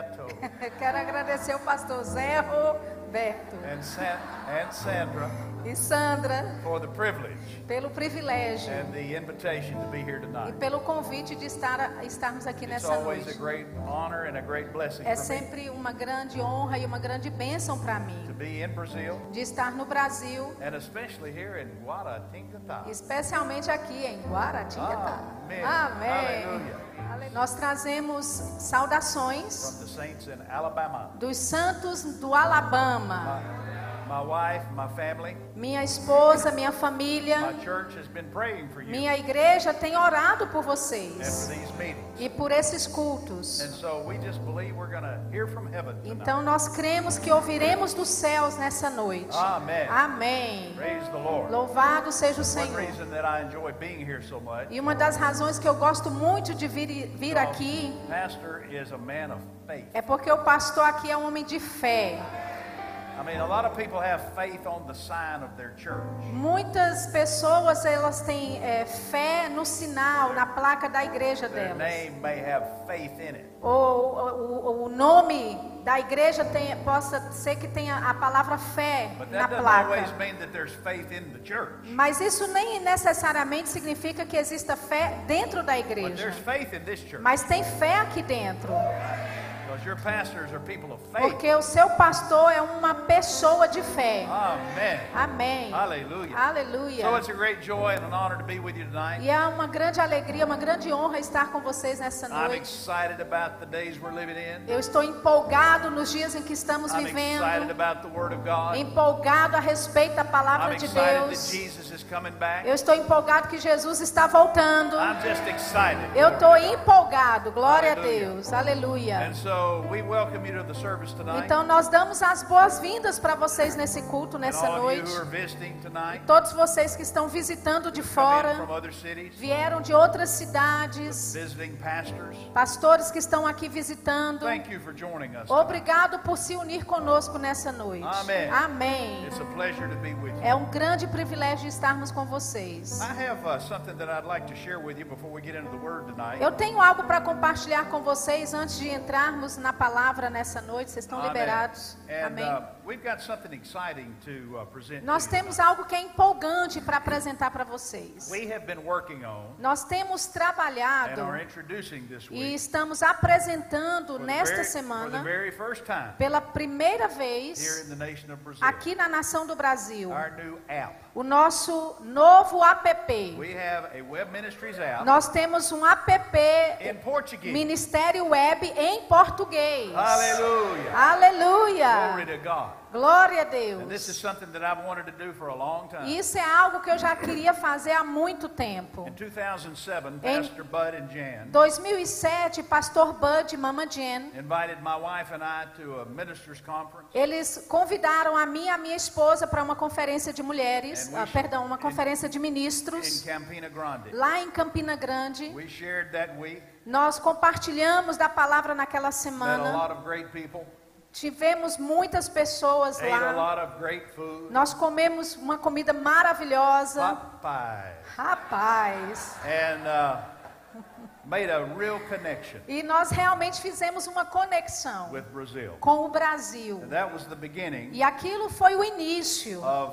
Roberto Quero agradecer o pastor Zé Roberto and Sandra e Sandra for the privilege pelo privilégio and the invitation to be here e tonight. pelo convite de estarmos aqui It's nessa always a noite. great honor and a great blessing É for me sempre uma grande honra e uma grande bênção para to mim be in Brazil de estar no Brasil, and especially here in Guaratinguetá. especialmente aqui em Guaratinguetá. Amém. Amém. Aleluia. Nós trazemos saudações From the saints in Alabama. dos santos do Alabama. My wife, my family, Minha esposa, minha my família, church has been praying for you minha igreja tem orado por and for vocês these meetings. e por esses cultos. And so we just believe we're going to hear from heaven tonight. Então nós cremos que ouviremos dos céus nessa noite. Amen. Amém. Praise the Lord. Louvado seja o One Senhor. reason that I enjoy being here so much, E uma das razões que eu gosto muito de vir aqui Pastor is a man of faith. é porque o pastor aqui é um homem de fé. I mean, a lot of people have faith on the sign of their church. Muitas pessoas elas têm fé no sinal, na placa da igreja Their delas. name may have faith in it. Ou o nome da igreja possa ser que tenha a palavra fé But na that doesn't always placa. mean that there's faith in the church. Mas isso nem necessariamente significa que exista fé dentro da But igreja. there's faith in this church. Mas tem fé aqui dentro. Because your pastors are people of faith. Porque o seu pastor é uma pessoa de fé. Amen. Amém. Hallelujah. Aleluia. So it's a great joy and an honor to be with you tonight. E é uma grande alegria, uma grande honra estar com vocês nessa I'm noite. excited about the days we're living in. Eu estou empolgado nos dias em que estamos I'm excited vivendo. about the Word of God. Empolgado a respeito da I'm palavra de excited that Deus. Jesus is coming back. Eu estou empolgado que Jesus está voltando. I'm just excited. Eu estou empolgado, glória a Aleluia. Deus, aleluia. And so we welcome you to the service tonight. Então nós damos as boas-vindas para vocês nesse culto, And nessa all of you noite. who are visiting tonight, Todos vocês que estão visitando de come in fora, from other cities, vieram de outras cidades, visiting pastors. pastores que estão aqui visitando. Thank you for joining us. tonight. Obrigado por se unir conosco nessa noite. Amém. Amém. It's a pleasure to be with you. É um grande privilégio estarmos com vocês. I have something that I'd like to share with you before we get into the Word tonight. Eu tenho algo para compartilhar com vocês antes de entrarmos na palavra nessa noite. Vocês estão Amen. liberados? And Amém. we've got something exciting to present Nós to you temos tonight. algo que é empolgante para apresentar para vocês. We have been working on Nós temos and trabalhado are introducing this e week estamos apresentando for the nesta for the semana, very first time pela primeira here vez, in the nation of Brazil, aqui na nação do Brasil, our new app. o nosso novo app. We have a Web Ministries app Nós temos um app in Portuguese. Ministério Web em português. Hallelujah. Aleluia. Glory to God. Glória a And this is Deus. something that I've wanted to do for a long time. Isso é algo que eu já queria fazer há muito tempo. In 2007, Em- Pastor Bud and Jan 2007, pastor Bud e Mama Jen, invited my wife and I to a ministers conference. eles convidaram a mim e a minha esposa para uma conferência de mulheres, uma conferência de In ministros, Campina Grande. lá em Campina Grande. We shared that week Nós compartilhamos da palavra naquela met a semana. lot of great people, Tivemos muitas pessoas ate a lá. lot of great food. Nós comemos uma comida maravilhosa. Popeye. Rapaz. And made a real connection E nós realmente fizemos uma conexão with Brazil. com o Brasil. And that was the beginning E aquilo foi o início of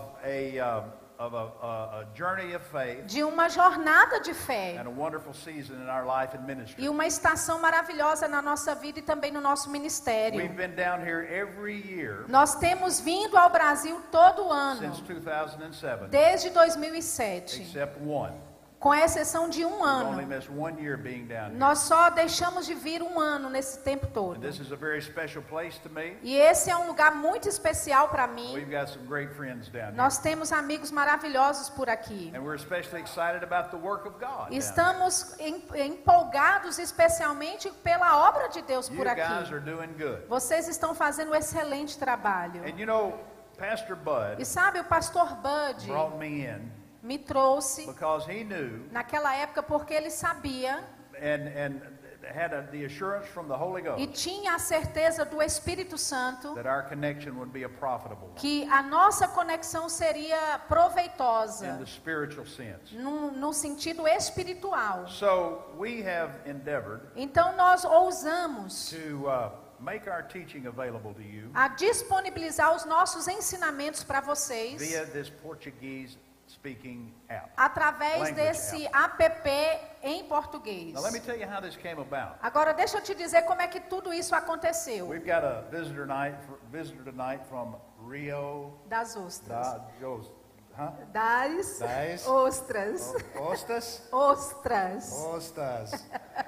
a journey of faith de uma jornada de fé. and a wonderful season in our life and ministry. E uma estação maravilhosa na nossa vida e também no nosso ministério. We've been down here every year Nós temos vindo ao Brasil todo ano, since 2007, desde 2007, except one. com exceção de um We've only ano. missed 1 year being down here. Nós só deixamos de vir um ano nesse tempo And todo. this is a very special place to me. E esse é um lugar muito especial para mim. We've got some great friends down here. Nós temos amigos maravilhosos por aqui. And we're especially excited about the work of God. down here. Estamos empolgados especialmente pela obra de Deus You por guys aqui. are doing good. Vocês estão fazendo um excelente trabalho. And you know, Pastor E Bud sabe, o pastor Bud brought me in me trouxe because he knew naquela época porque ele sabia and had the assurance from the Holy e Ghost tinha a certeza do Espírito Santo that our connection would be a profitable one que a nossa conexão seria in proveitosa the spiritual sense. no sentido espiritual. So we have endeavored Então nós ousamos to make our teaching available to you a disponibilizar os nossos ensinamentos para vocês via this Portuguese speaking app. através Language desse app em português. Now let me tell you how this came about. Agora deixa eu te dizer como é que tudo isso aconteceu. We've got a visitor tonight from Rio Das ostras. Das Das ostras. Ostras. Ostras.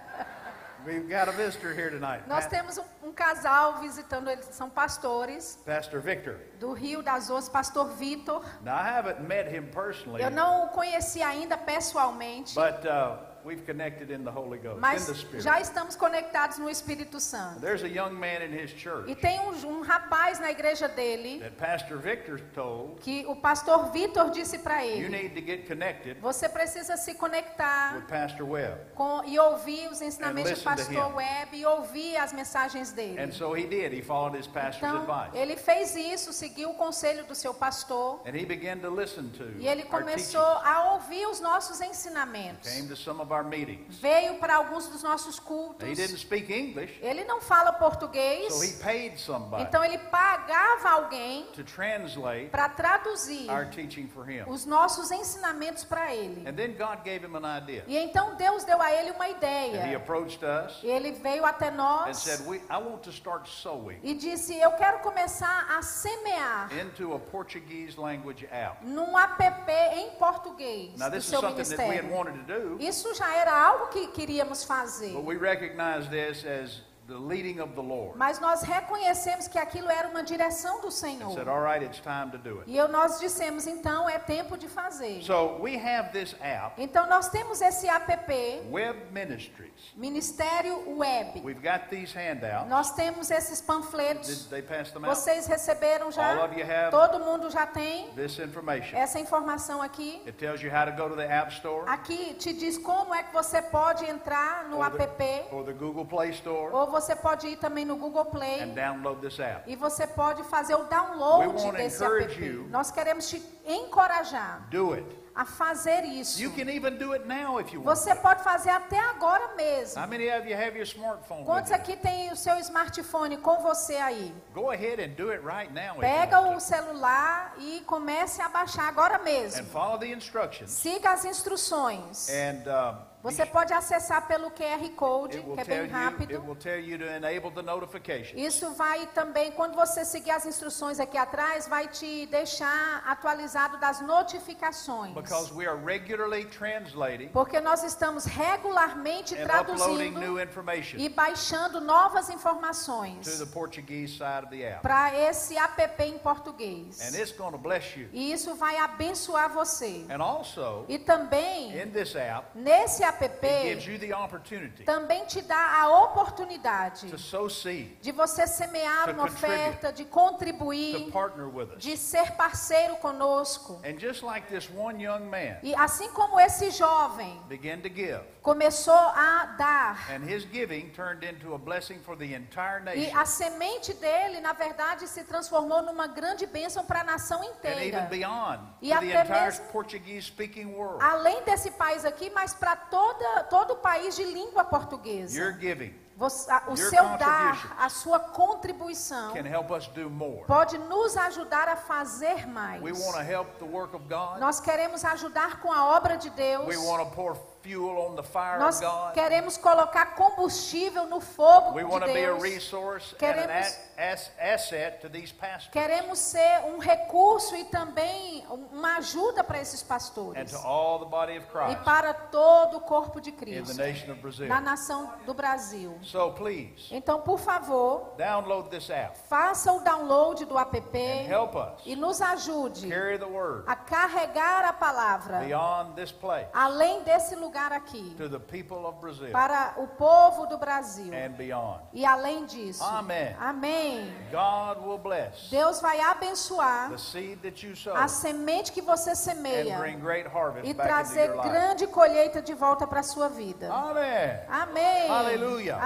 We've got a visitor here tonight. Nós temos um casal visitando, eles são pastores Pastor Victor. do Rio das Ostras, pastor Vitor. Now I haven't met him personally, Eu não o conheci ainda pessoalmente, but we've connected in the Holy Ghost, in mas the Spirit. já estamos conectados no Espírito Santo. There's a young man in his E church tem um rapaz na igreja dele that Pastor Victor told, que o pastor Vitor disse para you ele: need to get connected você precisa se conectar with Pastor Webb. e ouvir os ensinamentos And do listen to pastor him. Webb e ouvir as mensagens dele. And so he did. He followed his pastor's Então, advice. ele fez isso, seguiu o conselho do seu pastor And he began to listen to e ele our começou teachings. a ouvir os nossos ensinamentos. Came to some of our meetings. Veio para alguns dos nossos cultos. He didn't speak English, Ele não fala português, so he paid somebody então ele pagava alguém to translate para traduzir our teaching for him. os nossos ensinamentos para ele. And then God gave him an idea. E então Deus deu a ele uma And he ideia. approached us Ele veio até and nós said, I want to start sowing e disse: eu quero começar a semear into a Portuguese language app. num app em português Now do this is seu something that we had ministério. wanted to do, Isso já era algo que queríamos fazer. but we recognize this as the leading of the Lord. Mas nós reconhecemos que aquilo era uma direção do And said, Senhor. all right, it's time to do it. E nós dissemos: então é tempo de fazer. So we have this app, Então nós temos esse app, Web Ministries. Ministério Web. We've got these handouts. Nós temos esses panfletos. Did they pass them out? Vocês receberam já? All of you have Todo mundo já tem this information. essa informação aqui. It tells you how to go to the App Store Aqui te diz como é que você pode entrar no or app, the Google Play Store ou você pode ir também no Google Play and download this app. e você pode fazer o We download wanna desse encourage app. you. Nós queremos te encorajar Do it. a fazer isso. You can even do it now if you want. Você pode fazer até agora mesmo. How many of you have your smartphone with Quantos you? aqui tem o seu smartphone com você aí? Go ahead and do it right now if Pega you o want to. celular e comece a baixar agora And mesmo. follow the instructions. Siga as instruções. And Você pode acessar pelo QR Code, it will que é tell bem you, it rápido. will tell you to enable the notification. Isso vai também, quando você seguir as instruções aqui atrás, vai te deixar atualizado das notificações. Because we are regularly translating Porque nós estamos regularmente and uploading traduzindo new information e baixando novas to informações the Portuguese side of the app. para esse app em português. And it's going to bless you. E isso vai abençoar você. And also, E também, in this app, nesse app, it gives you the opportunity também te dá a oportunidade to sow seed, de você semear To uma oferta, de contribuir, to partner with us. de ser parceiro conosco. And just like this one young man E assim como esse jovem began to give, começou a dar, and his giving turned into a blessing for the entire e nation, a semente dele, na verdade, se transformou numa grande bênção para a nação and even inteira. beyond, E to the até entire mesmo- Portuguese-speaking world. Além desse país aqui, mas para todo o país de língua portuguesa. Your giving O your seu contribution dar, a sua contribuição, can help us do more. pode nos ajudar a fazer mais. We want to help the work of God. Nós queremos ajudar com a obra de Deus. We want to pour fuel on the fire Nós of God. queremos colocar combustível no fogo We de want to be a Deus. resource and Queremos- an asset to these pastors Queremos ser um recurso e também uma ajuda para esses and pastores. to all the body of E Christ para todo o corpo de in the Cristo, nation of Brazil. na nação do Brasil. So please, Então, por favor, download this app faça o download do app and help us e nos ajude carry the word a carregar a palavra beyond this place além desse lugar aqui, to the people of Brazil para o povo do Brasil. and beyond. E além disso, Amém. amém. God will bless Deus vai abençoar the seed that you sow a semente que você and semeia bring great harvest e back into trazer your life. grande colheita de volta para a sua vida. Amen. Amém. Aleluia.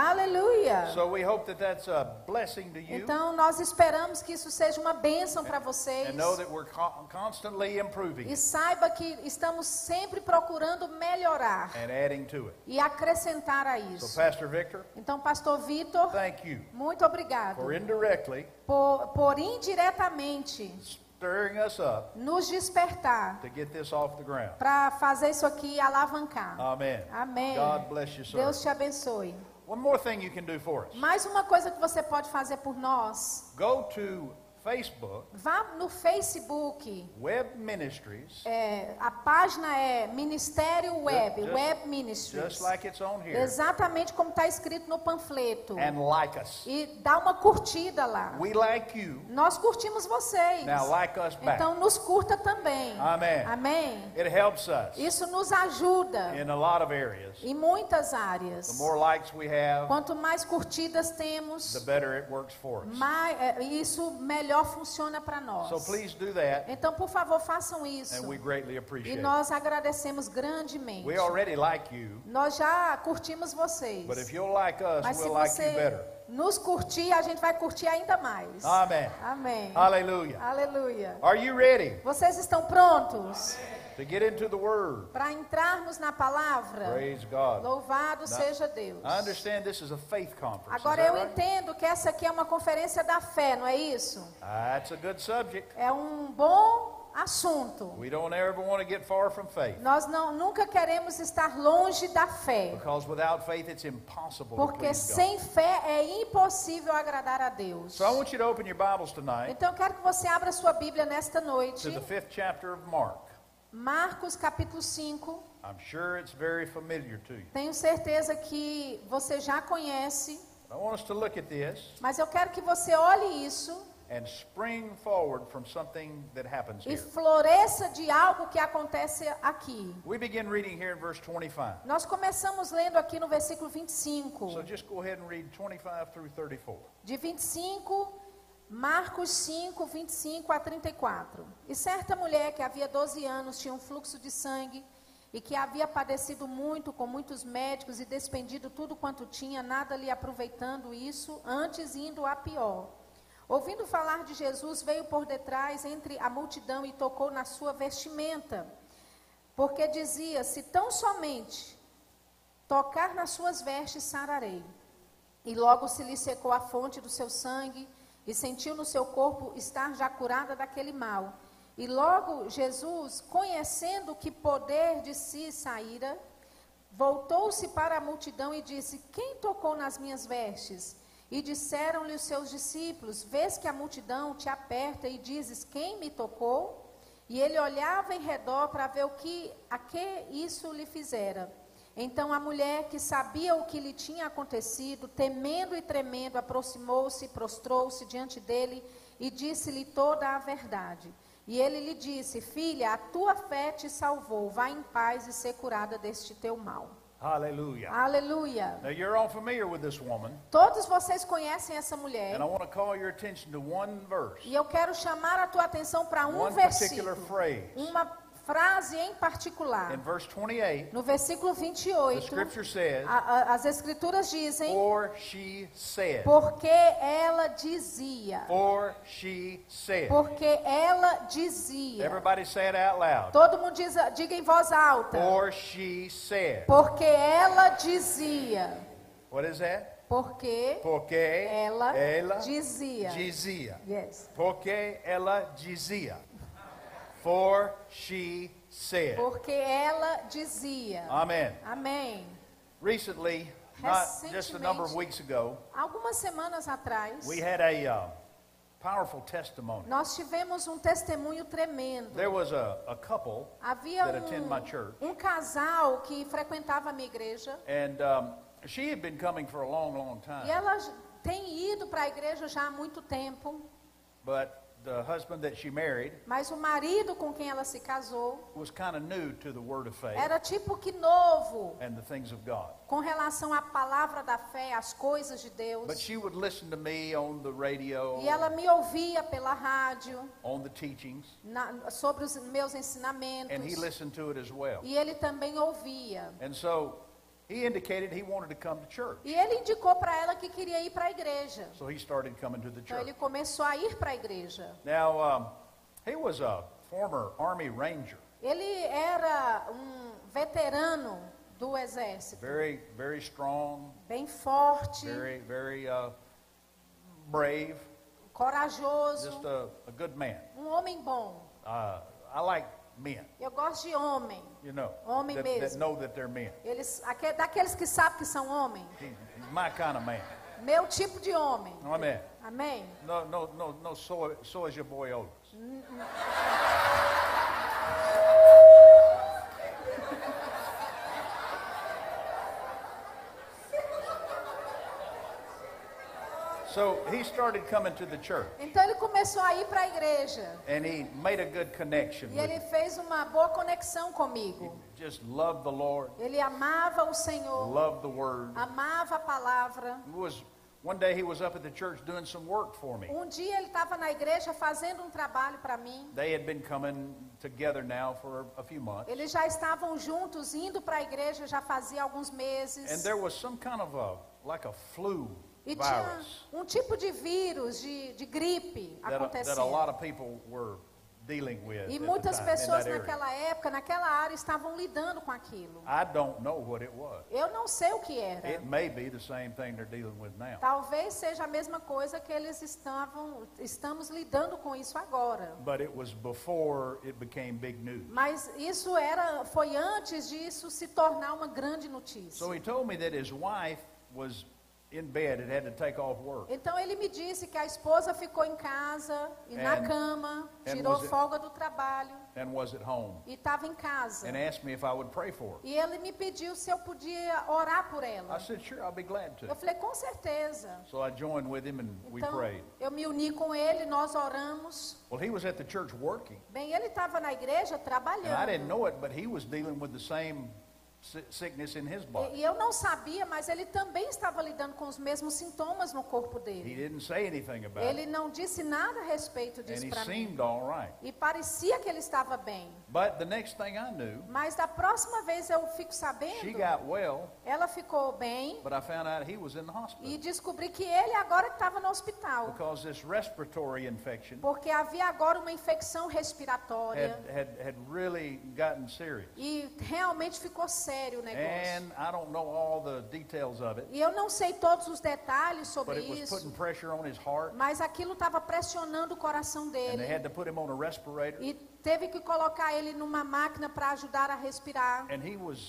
Aleluia. So we hope that that's a blessing to you. Então nós esperamos que isso seja uma bênção para vocês. And know that we're constantly improving E saiba que estamos sempre procurando melhorar and adding to it. e acrescentar a So isso. Pastor Victor, Então, Pastor Vitor, thank you muito obrigado for indirectly por indiretamente stirring us up nos despertar to get this off the ground. para fazer isso aqui alavancar. Amen. Amém. God bless you, sir. Deus te abençoe. One more thing you can do for us. Mais uma coisa que você pode fazer por nós. Go to Facebook, Vá no Facebook. Web Ministries, A página é Ministério Web, Just- Web Ministries. just like it's on here, Exatamente como está escrito no panfleto. and like us. E dá uma curtida lá. We like you. Nós curtimos vocês. Now like us back. Então nos curta também. Amen. Amém. It helps us Isso nos ajuda in a lot of areas. em muitas The áreas. more likes we have, Quanto mais curtidas temos, the better it works for us. isso melhor funciona para nós. So please do that, Então, por favor, façam isso. and we greatly E appreciate it. nós agradecemos grandemente. We already like you, Nós já curtimos vocês. but if you'll like us, Mas se we'll like you você better. nos curtir, a gente vai curtir ainda mais. Amen. Amém. Hallelujah. Aleluia. Are you ready Vocês estão prontos to get into the Word? para entrarmos na palavra? Praise God. Louvado seja Deus. I understand this is a faith conference. Is Agora that eu right? entendo que essa aqui é uma conferência da fé, não é isso? That's a good subject. É um bom assunto. We don't ever want to get far from faith, Nós nunca queremos estar longe da fé, because without faith it's impossible to porque please God. sem fé é impossível agradar a Deus. So I want you to open your Bibles tonight Então eu quero que você abra sua Bíblia nesta noite. to the 5th chapter of Mark. Marcos capítulo 5. I'm sure it's very familiar to you. Tenho certeza que você já conhece, I want us to look at this mas eu quero que você olhe isso and spring forward from something that happens e here. floresça de algo que acontece aqui. We begin reading here in verse 25. Nós começamos lendo aqui no versículo 25. So just go ahead and read 25 through 34. De 25, Marcos 5, 25 a 34. E certa mulher que havia 12 anos tinha um fluxo de sangue e que havia padecido muito com muitos médicos e despendido tudo quanto tinha, nada lhe aproveitando isso, antes indo a pior. Ouvindo falar de Jesus, veio por detrás entre a multidão e tocou na sua vestimenta, porque dizia: se tão somente tocar nas suas vestes, sararei. E logo se lhe secou a fonte do seu sangue, e sentiu no seu corpo estar já curada daquele mal. E logo Jesus, conhecendo que poder de si saíra, voltou-se para a multidão e disse: quem tocou nas minhas vestes? E disseram-lhe os seus discípulos: vês que a multidão te aperta e dizes: quem me tocou? E ele olhava em redor para ver a que isso lhe fizera. Então a mulher, que sabia o que lhe tinha acontecido, temendo e tremendo, aproximou-se e prostrou-se diante dele e disse-lhe toda a verdade. E ele lhe disse: filha, a tua fé te salvou, vá em paz e ser curada deste teu mal. Hallelujah. Aleluia. Now you're all familiar with this woman, Todos vocês conhecem essa mulher. and I want to call your attention to one verse, E eu quero chamar a tua atenção para um one particular versículo, phrase. uma frase em particular. In verse 28, No versículo the 28, scripture says, as escrituras dizem: for she said. porque ela dizia. For she said. Porque ela dizia. Everybody say it out loud. Todo mundo diga em voz alta. For she said. Porque ela dizia. What is that? Porque Porque ela ela dizia. dizia. Yes. Porque ela dizia. For she said. Porque ela dizia. Amen. Amém. Recently, not just a number of weeks ago, Algumas semanas atrás, we had a powerful testimony. nós tivemos um testemunho tremendo. There was a couple Havia that attend my church, um casal que frequentava a minha igreja and she had been coming for a long, long e time. ela tem ido para a igreja já há muito tempo, But the husband that she married mas o marido com quem ela se casou was kind of new to the word of faith era tipo que novo and the things of God. com relação à palavra da fé, às coisas de Deus. But she would listen to me on the radio, E ela me ouvia pela rádio on the teachings, sobre os meus ensinamentos. and he listened to it as well. E ele também ouvia. And so he indicated he wanted to come to church. E ele indicou para ela que queria ir para a igreja. So he started coming to the Então ele church. começou a ir para a igreja. Now, he was a former Army Ranger. Ele era veterano do exército, Very, very strong, bem forte, very brave, corajoso, just a good man. homem bom. I like men, Eu gosto de homem. you know, Homem that mesmo. know that they're men. Daqueles que sabem que são homem. He's my kind of man. Meu tipo de homem. Amen. Amém? No soja boiolas. So he started coming to the church, Então ele começou a ir para a igreja. and he made a good connection E with ele me. fez uma boa conexão comigo. Just loved the Lord, Ele amava o Senhor, loved the Word. amava a palavra. One day he was up at the church doing some work for me. Dia ele estava na igreja fazendo trabalho para mim. They had been coming together now for a few months, Eles já estavam juntos, indo para a igreja já fazia alguns and meses. there was some kind of like a flu E tinha virus tipo de vírus, de gripe that a acontecendo. lot of people were dealing with E at the muitas time, in pessoas that area. naquela época, naquela área, estavam lidando com aquilo. I don't know what it was. Eu não sei o que era. It may be the same thing they're dealing with now. Talvez seja a mesma coisa que eles estamos lidando com isso agora. But it was before it became big news. Mas isso foi antes disso se tornar uma grande notícia. So he told me that his wife was in bed and had to take off work. Então ele me disse que a esposa ficou em casa e na And- cama, and tirou was it- folga do trabalho And was at home, e estava em casa. and asked me if I would pray for her. E ele me pediu se eu podia orar por ela. I said, sure, I'll be glad Eu to. falei, com certeza. So I joined with him and we Então prayed. eu me uni com ele, nós oramos. Well, he was at the church working, Bem, ele estava na igreja and I didn't trabalhando. know it, but he was dealing with the same sickness in his body. E eu não sabia, mas ele também estava lidando com os mesmos sintomas no corpo He dele. didn't say anything about Ele it, não disse nada a respeito and disso he para mim. seemed all right. E parecia que ele estava bem. But the next thing I knew, Mas da próxima vez eu fico she sabendo, got well, ela ficou bem but I found out he was in the e hospital descobri que ele agora estava no hospital. because this respiratory infection Porque havia agora uma infecção respiratória. had really gotten serious. E realmente ficou sério o negócio. And I don't know all the details of it, E eu não sei todos os detalhes but sobre it was isso, putting pressure on his heart, mas aquilo estava pressionando o coração and they dele. had to put him on a respirator. E teve que colocar ele numa máquina para ajudar a respirar. And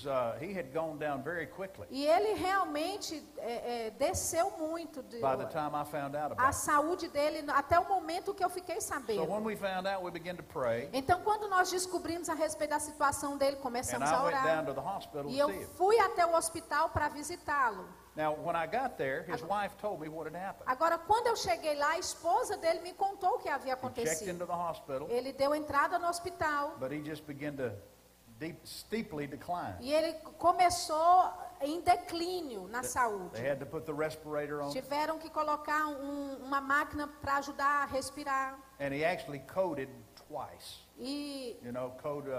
he had gone down very quickly E ele realmente desceu muito by the time I found out a about it. saúde dele até o momento que eu fiquei So sabendo. when we found out, we began to pray, Então, quando nós descobrimos a respeito da situação dele, and começamos a I went down orar. to the hospital E to eu see him. fui até o hospital para visitá-lo. Now, when I got there, his wife told me what had happened. Agora, quando eu cheguei lá, a esposa dele me contou o que havia He checked acontecido. into the hospital, Ele deu entrada no hospital but he just began to steeply decline. e ele começou em declínio na saúde. They had to put the respirator on, Tiveram que colocar uma máquina para ajudar a respirar. and he actually coded twice. E, You know,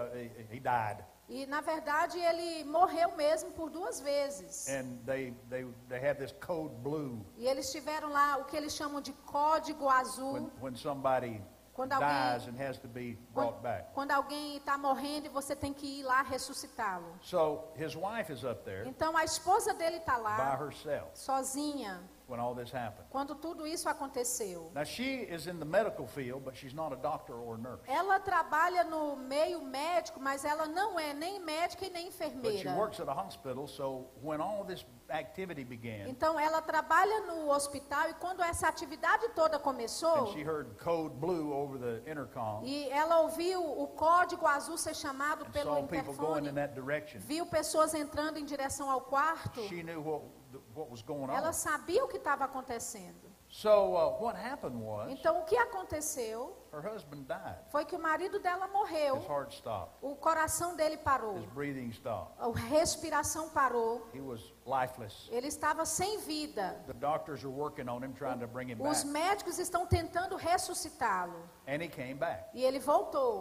he died. na verdade, ele morreu mesmo por 2 vezes. And they have this code blue E eles tiveram lá o que eles chamam de código azul. when somebody Quando alguém- dies and has to be brought back. Quando alguém está morrendo e você tem que ir lá ressuscitá-lo. So his wife is up there Então a esposa dele está by lá, herself sozinha, when all this happened. quando tudo isso aconteceu. Now she is in the medical field, but she's not a doctor or a nurse. Ela trabalha no meio médico, mas ela não é nem médica e nem But she enfermeira. works at a hospital, so when all this activity began, Então ela trabalha no hospital e quando essa atividade toda and começou, she heard code blue over the intercom, e ela ouviu o código azul ser chamado and pelo saw people going in interfone, that direction, viu pessoas entrando em direção ao quarto, she knew what was going ela on. sabia o que estava acontecendo. So what happened was Então o que aconteceu her husband died. foi que o marido dela His morreu, heart stopped. o coração dele parou, His breathing stopped. a respiração parou, He was lifeless. ele estava sem vida. The doctors are working on him, trying to bring him Os back. médicos estão tentando ressuscitá-lo And he came back. e ele voltou.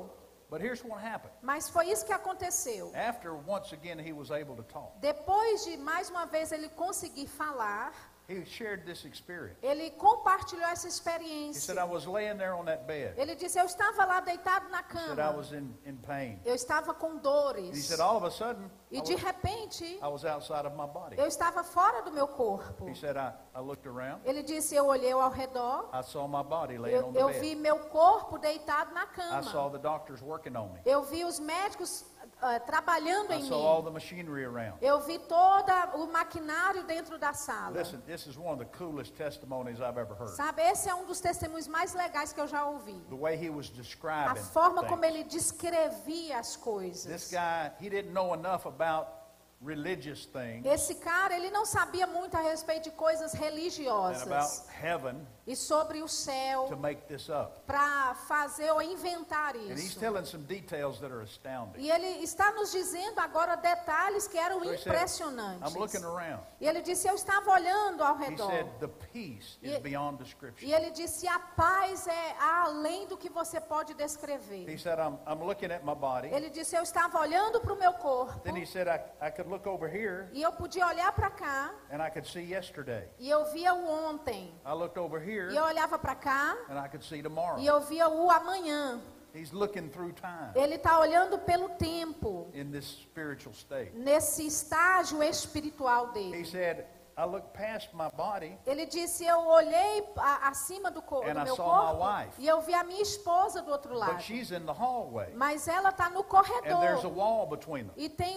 But here's what happened. Mas foi isso que aconteceu. After once again he was able to talk, Depois de mais uma vez ele conseguir falar, he shared this experience. ele compartilhou essa He experiência. said, I was laying there on that bed. Ele disse, eu estava lá deitado na He said, I cama. was in pain. Eu estava com And he dores. said, all of a sudden, E de repente, I was outside of my body. eu estava fora do meu corpo. He said, I looked around. Ele disse, eu olhei ao redor. I saw my body laying on the Eu bed. vi meu corpo deitado na I saw cama. the doctors working on me. Eu vi os médicos trabalhando I em saw all mim. the machinery around. Eu vi todo o maquinário dentro da sala. Listen, this is one of the coolest testimonies I've ever heard. Sabe, esse é um dos testemunhos mais legais que eu já ouvi. The way he was A describing forma como things. ele descrevia as This coisas. guy, he didn't know enough about religious things Esse cara, ele não sabia muito a respeito de coisas and about religiosas heaven e sobre o céu to make this up. para fazer ou inventar And he's isso. telling some details that are astounding. E ele está nos dizendo agora detalhes que eram So he said, impressionantes. I'm looking around. E ele disse, eu estava olhando ao He redor. said, the peace is E- beyond E description. ele disse, a paz é além do que você pode He descrever. said, I'm looking at my body. Ele disse, eu estava olhando para o meu corpo. Then he said, I could look over here E eu podia olhar para cá. and I could see yesterday. E eu via o ontem. I looked over here E eu olhava para cá. and I could see tomorrow. E eu via o amanhã. He's looking through time Ele está olhando pelo tempo. in this spiritual state. Nesse estágio espiritual He dele. said, I looked past my body Ele disse, eu olhei acima do And I meu saw my corpo. wife. E eu vi a minha esposa do outro lado. but she's in the hallway. Mas ela está no And there's a corredor. wall between them. E tem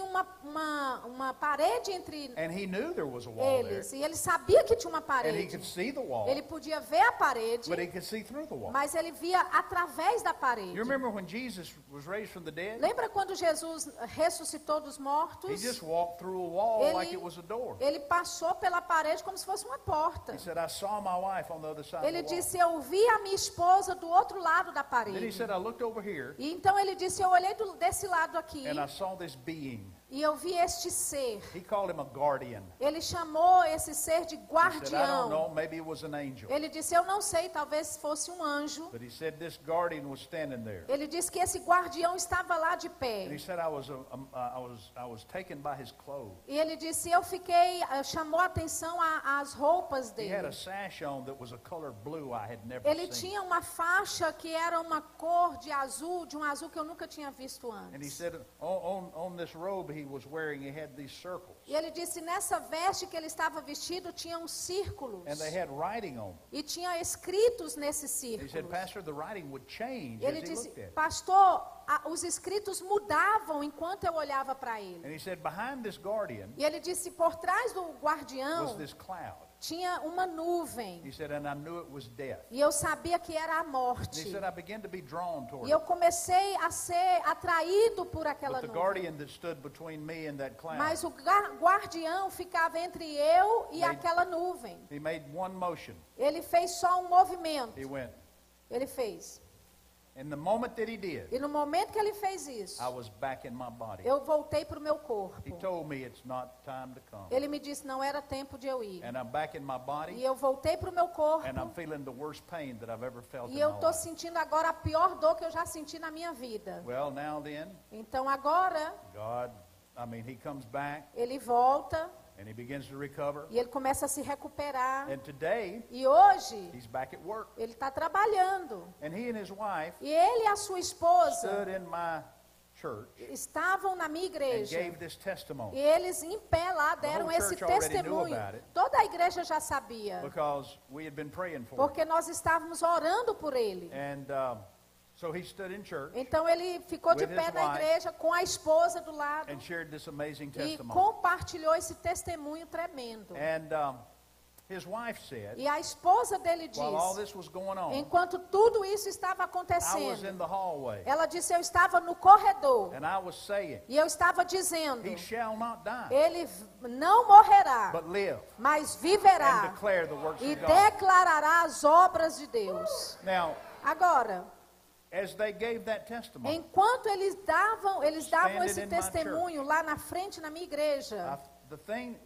uma parede entre And he knew there was a wall there. eles. E ele sabia que tinha uma And he parede. could see the wall, Ele podia ver a parede, but he could see through the wall. mas ele via através da parede. You remember when Jesus was raised from the dead? Lembra quando Jesus ressuscitou dos He mortos? just walked through a wall Ele- like it was a door. Ele passou pela parede como se fosse uma porta. He said, I saw my wife on the other side Ele of the wall. disse, eu vi a minha esposa do outro lado da Then he parede. said, I looked over here E então ele disse, eu olhei desse lado aqui and I saw this being. e eu vi este ser. He called him a guardian. Ele chamou esse ser de He said, I don't guardião. know, maybe it was an angel. Ele disse, eu não sei, talvez fosse um anjo. But he said this guardian was standing there. Ele disse que esse guardião estava lá de And pé. he said, I was taken by his clothes. E ele disse, eu fiquei, chamou a atenção às roupas He had a dele. sash on that was a color blue I had never Ele seen. tinha uma faixa que era uma cor de um azul que eu nunca tinha visto And he antes. said, on this robe he was wearing, he had these circles. E ele disse, nessa veste que ele estava vestido, tinha uns círculos. And they had writing on them. E tinha escritos nesses He said, círculos. Pastor, the writing would change Ele as he disse, looked at it. pastor, os escritos mudavam enquanto eu olhava para ele. And he said, behind this guardian E ele disse, por trás do was guardião this cloud. tinha uma nuvem. He said, and I knew it was death. E eu sabia que era a And he morte. said, I began to be drawn toward E eu it. comecei a ser atraído por aquela But the nuvem. guardian that stood between me and that cloud, Mas o guardião ficava entre eu e Made- aquela nuvem. he made one motion. Ele fez só um movimento. He went. Ele fez. And the moment that he did, E no momento que ele fez isso, I was back in my body. eu voltei para o meu He corpo. told me it's not time to come. Ele me disse, não era tempo de eu ir. And I'm back in my E body, eu voltei para o meu corpo. and I'm feeling the worst pain that I've ever felt E in eu my estou life. sentindo agora a pior dor que eu já senti na minha vida. Well, now then, Então agora, he comes back, ele volta and he begins to recover. e ele começa a se recuperar. And today, E hoje, he's back at work. ele está trabalhando. And he and his wife E ele e a sua esposa stood in my church estavam na minha and igreja. gave this E testimony eles em pé lá deram whole esse church already knew testemunho. about it. Toda a igreja já sabia. because we had been praying for him. Porque nós estávamos orando por ele. And so he stood in church Então ele ficou de With pé his na wife igreja com a esposa do lado and shared this amazing e testimony. compartilhou esse testemunho tremendo. And his wife said, E a esposa dele while all diz, this was going on, enquanto tudo isso estava I was in acontecendo, the hallway ela disse, eu estava no corredor and I was saying, e eu estava dizendo, he shall not die, ele não morrerá, but live mas and viverá declare the works e of God. declarará as obras de Deus. Now, Agora, as they gave that testimony, enquanto eles davam esse Standing in my testemunho lá na frente na minha igreja, the the thing,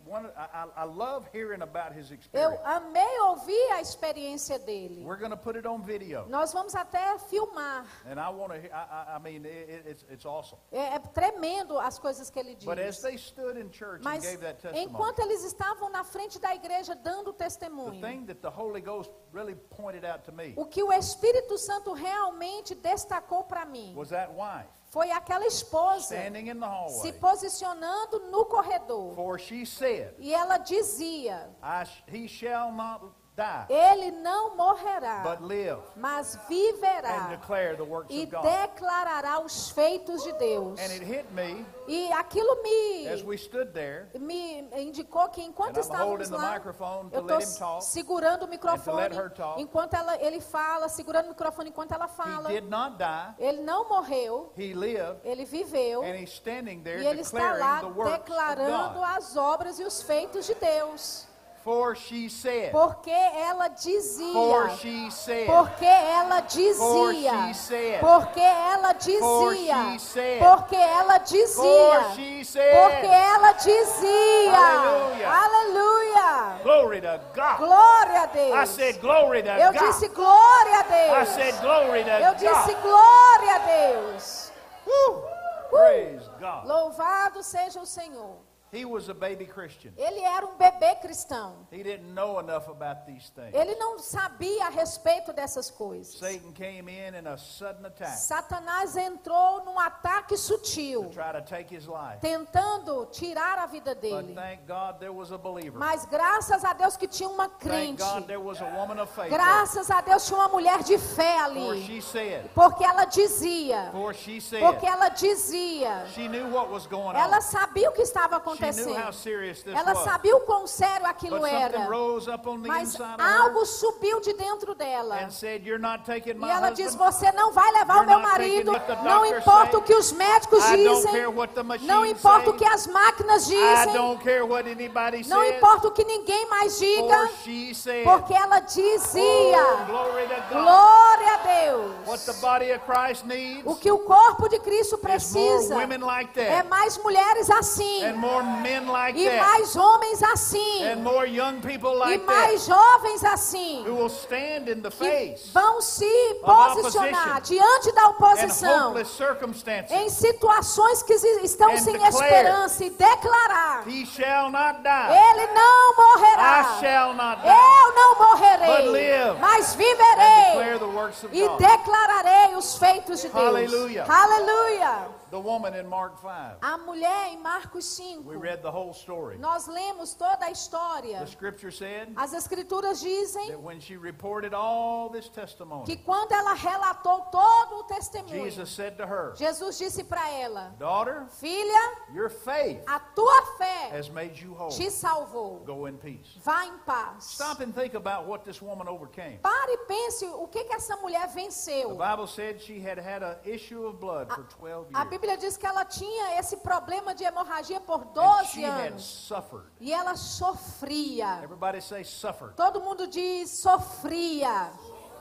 I love hearing about his Eu experience. amei ouvir a experiência dele. We're going to put it on video. Nós vamos até filmar. And I want to, I mean, it's awesome. É tremendo as coisas que ele diz. But as they stood in church and Mas gave that testimony, enquanto eles estavam na frente da igreja dando the testemunho, thing that the Holy Ghost really pointed out to me o que o Espírito Santo realmente destacou para mim was that wife foi aquela esposa standing in the se hallway. posicionando no corredor. For she said, E ela dizia: he shall not die, ele não morrerá, but live mas and viverá declare the works e of God. declarará os feitos de Deus. And it hit me E aquilo as we stood there, me indicou que enquanto and I'm estávamos holding the lá, microphone to eu let estou him talk. segurando o microfone let her talk. enquanto ele fala, segurando o microfone enquanto ela He fala. did not die, Ele não morreu, he lived, ele viveu, and he's standing there e ele está lá declaring the works of declarando God. as obras e os feitos de Deus. For she said, Porque ela dizia, for she said, porque ela dizia, For she said. porque ela For dizia, she said. porque ela dizia, for she porque said. ela dizia. Aleluia. Aleluia. Glory to God. Glória a Deus. I said glory to Eu God. disse glória a I Deus. said glory to Eu disse God. glória a Deus. Woo. Praise God. Louvado seja o Senhor. He was a baby Christian. Ele era um bebê cristão. He didn't know enough about these things. Ele não sabia a respeito dessas coisas. Satan came in a sudden attack Satanás entrou num ataque to sutil, try to take his life. tentando tirar a vida But dele. thank God there was a believer. Mas graças a Deus que tinha uma Thank crente. God there was a woman of faith. Graças a Deus tinha uma mulher de fé For ali. she said, Porque ela dizia. for she said, Porque ela dizia. she knew what was going Ela on. sabia o que estava She knew how acontecendo. serious this Ela was. sabia o quão sério aquilo But something era. rose up on the Mas inside of her algo subiu de dentro dela. and said, you're not taking my E ela husband. diz: você não vai levar o You're meu not taking marido. what the Não doctors importa say. o que os médicos I don't dizem. care what the machines Não importa say. o que as máquinas I dizem. don't care what anybody Não says. importa o que ninguém mais For diga. she said, Porque ela oh, dizia. glory to God. Glória a Deus. What the body of Christ needs O que o corpo de Cristo is more precisa women like é that, mais mulheres assim. and more men like E that, mais homens assim. and more young people E like mais that, jovens assim. who will stand in the Que face vão se of posicionar opposition diante da and oposição hopeless circumstances. em situações que estão And sem declare, esperança e declarar: He shall not die. ele não morrerá. I shall not die. Eu não But morrerei, live mas and viverei declare the works of e God. declararei os feitos de Deus. Hallelujah. Aleluia. The woman in Mark 5. A mulher em Marcos 5. We read the whole story. Nós lemos toda a história. The scripture said As escrituras dizem that when she reported all this testimony, que quando ela relatou todo o testemunho, Jesus said to her, Jesus disse para ela: daughter, filha, your faith a tua fé has made you whole. te salvou. Go in peace. Vá em paz. Stop and think about what this woman overcame. Pare e pense o que essa mulher The venceu. Bible said she had had an issue of blood for 12 A years. Bíblia diz que ela tinha esse problema de hemorragia por And 12 she had anos. suffered. E ela sofria. Everybody say suffered. Todo mundo diz sofria.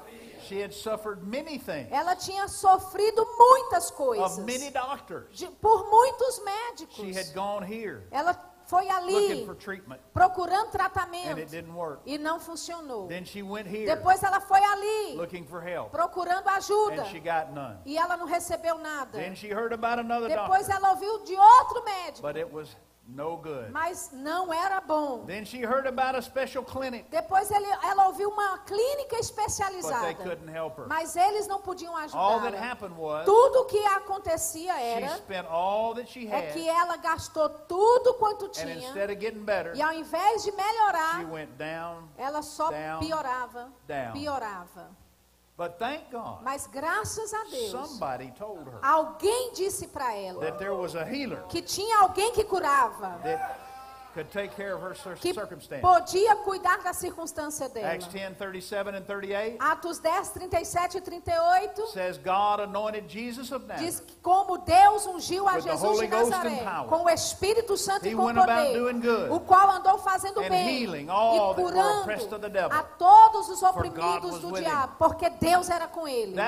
She had suffered many things Ela tinha sofrido muitas of coisas. many doctors. Por muitos She médicos. had gone here Ela foi looking ali for treatment, procurando and it tratamento didn't work. e não funcionou. Then she went here Depois ela foi ali looking for help, procurando ajuda and she got none. e ela não recebeu nada. Then she heard about another Depois doctor, ela ouviu de outro médico, but it was no good. mas não era bom. Then she heard about a special clinic, Depois ela ouviu uma clínica but they especializada, couldn't help her. mas eles não podiam All that ajudá-la. happened was Tudo que acontecia she era spent all that she é had, que ela gastou tudo quanto and tinha instead of getting better, e ao invés de she melhorar, went down, ela só down, piorava, down. piorava. But thank God, Mas graças a Deus, somebody told her alguém disse para ela that there was a healer que tinha alguém que curava, that could take care of her que circumstance. podia cuidar da circunstância dela. Acts 10:37 and 38 Atos 10, 37 e 38 says God anointed Jesus of diz Nazareth. que como Deus ungiu a With the Jesus de Holy Ghost Nazaré and power. com o Espírito Santo He e com went about poder, doing good o qual andou fazendo and bem healing all e that were oppressed of the curando devil. a todos os God oprimidos was do with diabo, porque Deus era com ele.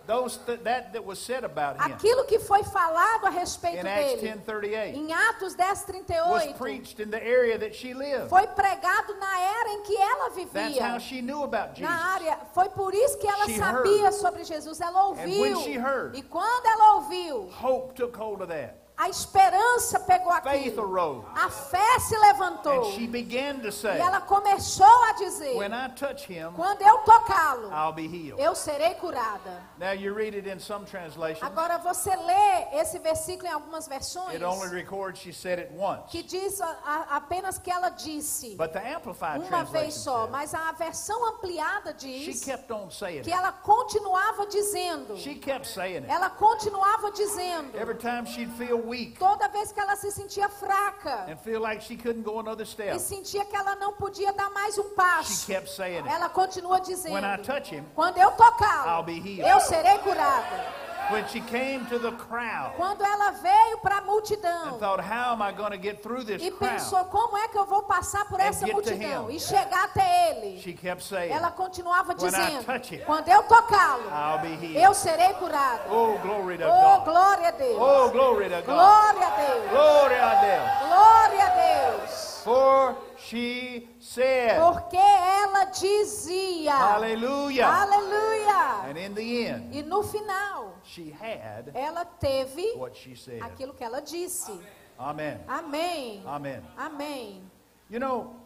that was said about him Aquilo que foi falado a respeito in Acts dele 10:38 em Atos was 10:38 preached in the area that she lived. foi pregado na era em que ela That's vivia. how she knew about Jesus. Na área, foi por isso que ela She sabia heard. sobre Jesus. Ela ouviu. when she heard, E quando ela ouviu, Hope took hold of that. a esperança pegou Faith aquilo. arose. A fé se levantou. And she began to E say, ela começou a dizer: when I touch him, quando eu tocá-lo, I'll be healed. eu serei curada. Now you read it in some translations. Agora você lê esse versículo em algumas versões It only records she said it once. que diz apenas que ela disse But the Amplified uma vez translation só, says, mas a versão ampliada she diz kept on saying que it. ela continuava dizendo. She kept saying it. Ela continuava dizendo. Every time she'd feel weak Toda vez que ela se sentia fraca and feel like she couldn't go another e step, sentia que ela não podia dar mais um she passo, kept saying it. ela continua dizendo: When I touch him, quando eu tocá-lo, I'll be healed. eu serei curada. When she came to the crowd Quando ela veio para a and multidão thought, how am I going to get through this e crowd? pensou: como é que eu vou passar por And essa get to multidão him. e chegar até ele? She kept saying, Ela continuava When I dizendo: touch him, quando eu tocá-lo, I'll be healed. eu serei curada. Oh, glory to Oh, God. glória a Deus. Oh, glory to God. Glória a Deus. Glória a Deus. Glória a Deus. For she said, Porque ela dizia. hallelujah. Aleluia. And in the end, E no final, she had ela teve what she said. aquilo que ela disse. Amen. Amém. Amen. Amém. You know,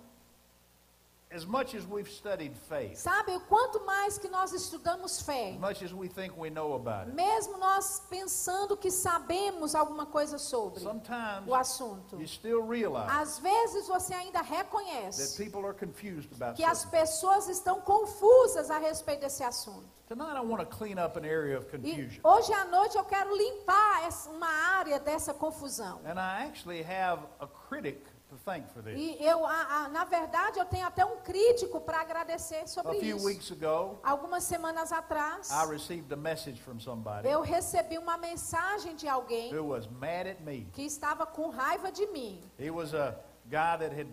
as much as we've studied faith, Sabe, o quanto mais que nós estudamos fé, as much as we think we know about it, mesmo nós pensando que sabemos alguma coisa sobre sometimes o assunto, you still realize às vezes você ainda that reconhece people are confused about que as certain. pessoas estão confusas a respeito desse assunto. Tonight I want to clean up an area of E confusion. hoje à noite eu quero limpar uma área dessa confusão. And I actually have a critic to thank for this. E eu, na verdade, eu tenho até um crítico para agradecer sobre A few isso. weeks ago, Algumas semanas atrás, I received a message from somebody eu recebi uma mensagem de alguém who was mad at me. que estava com raiva de mim. He was a guy that had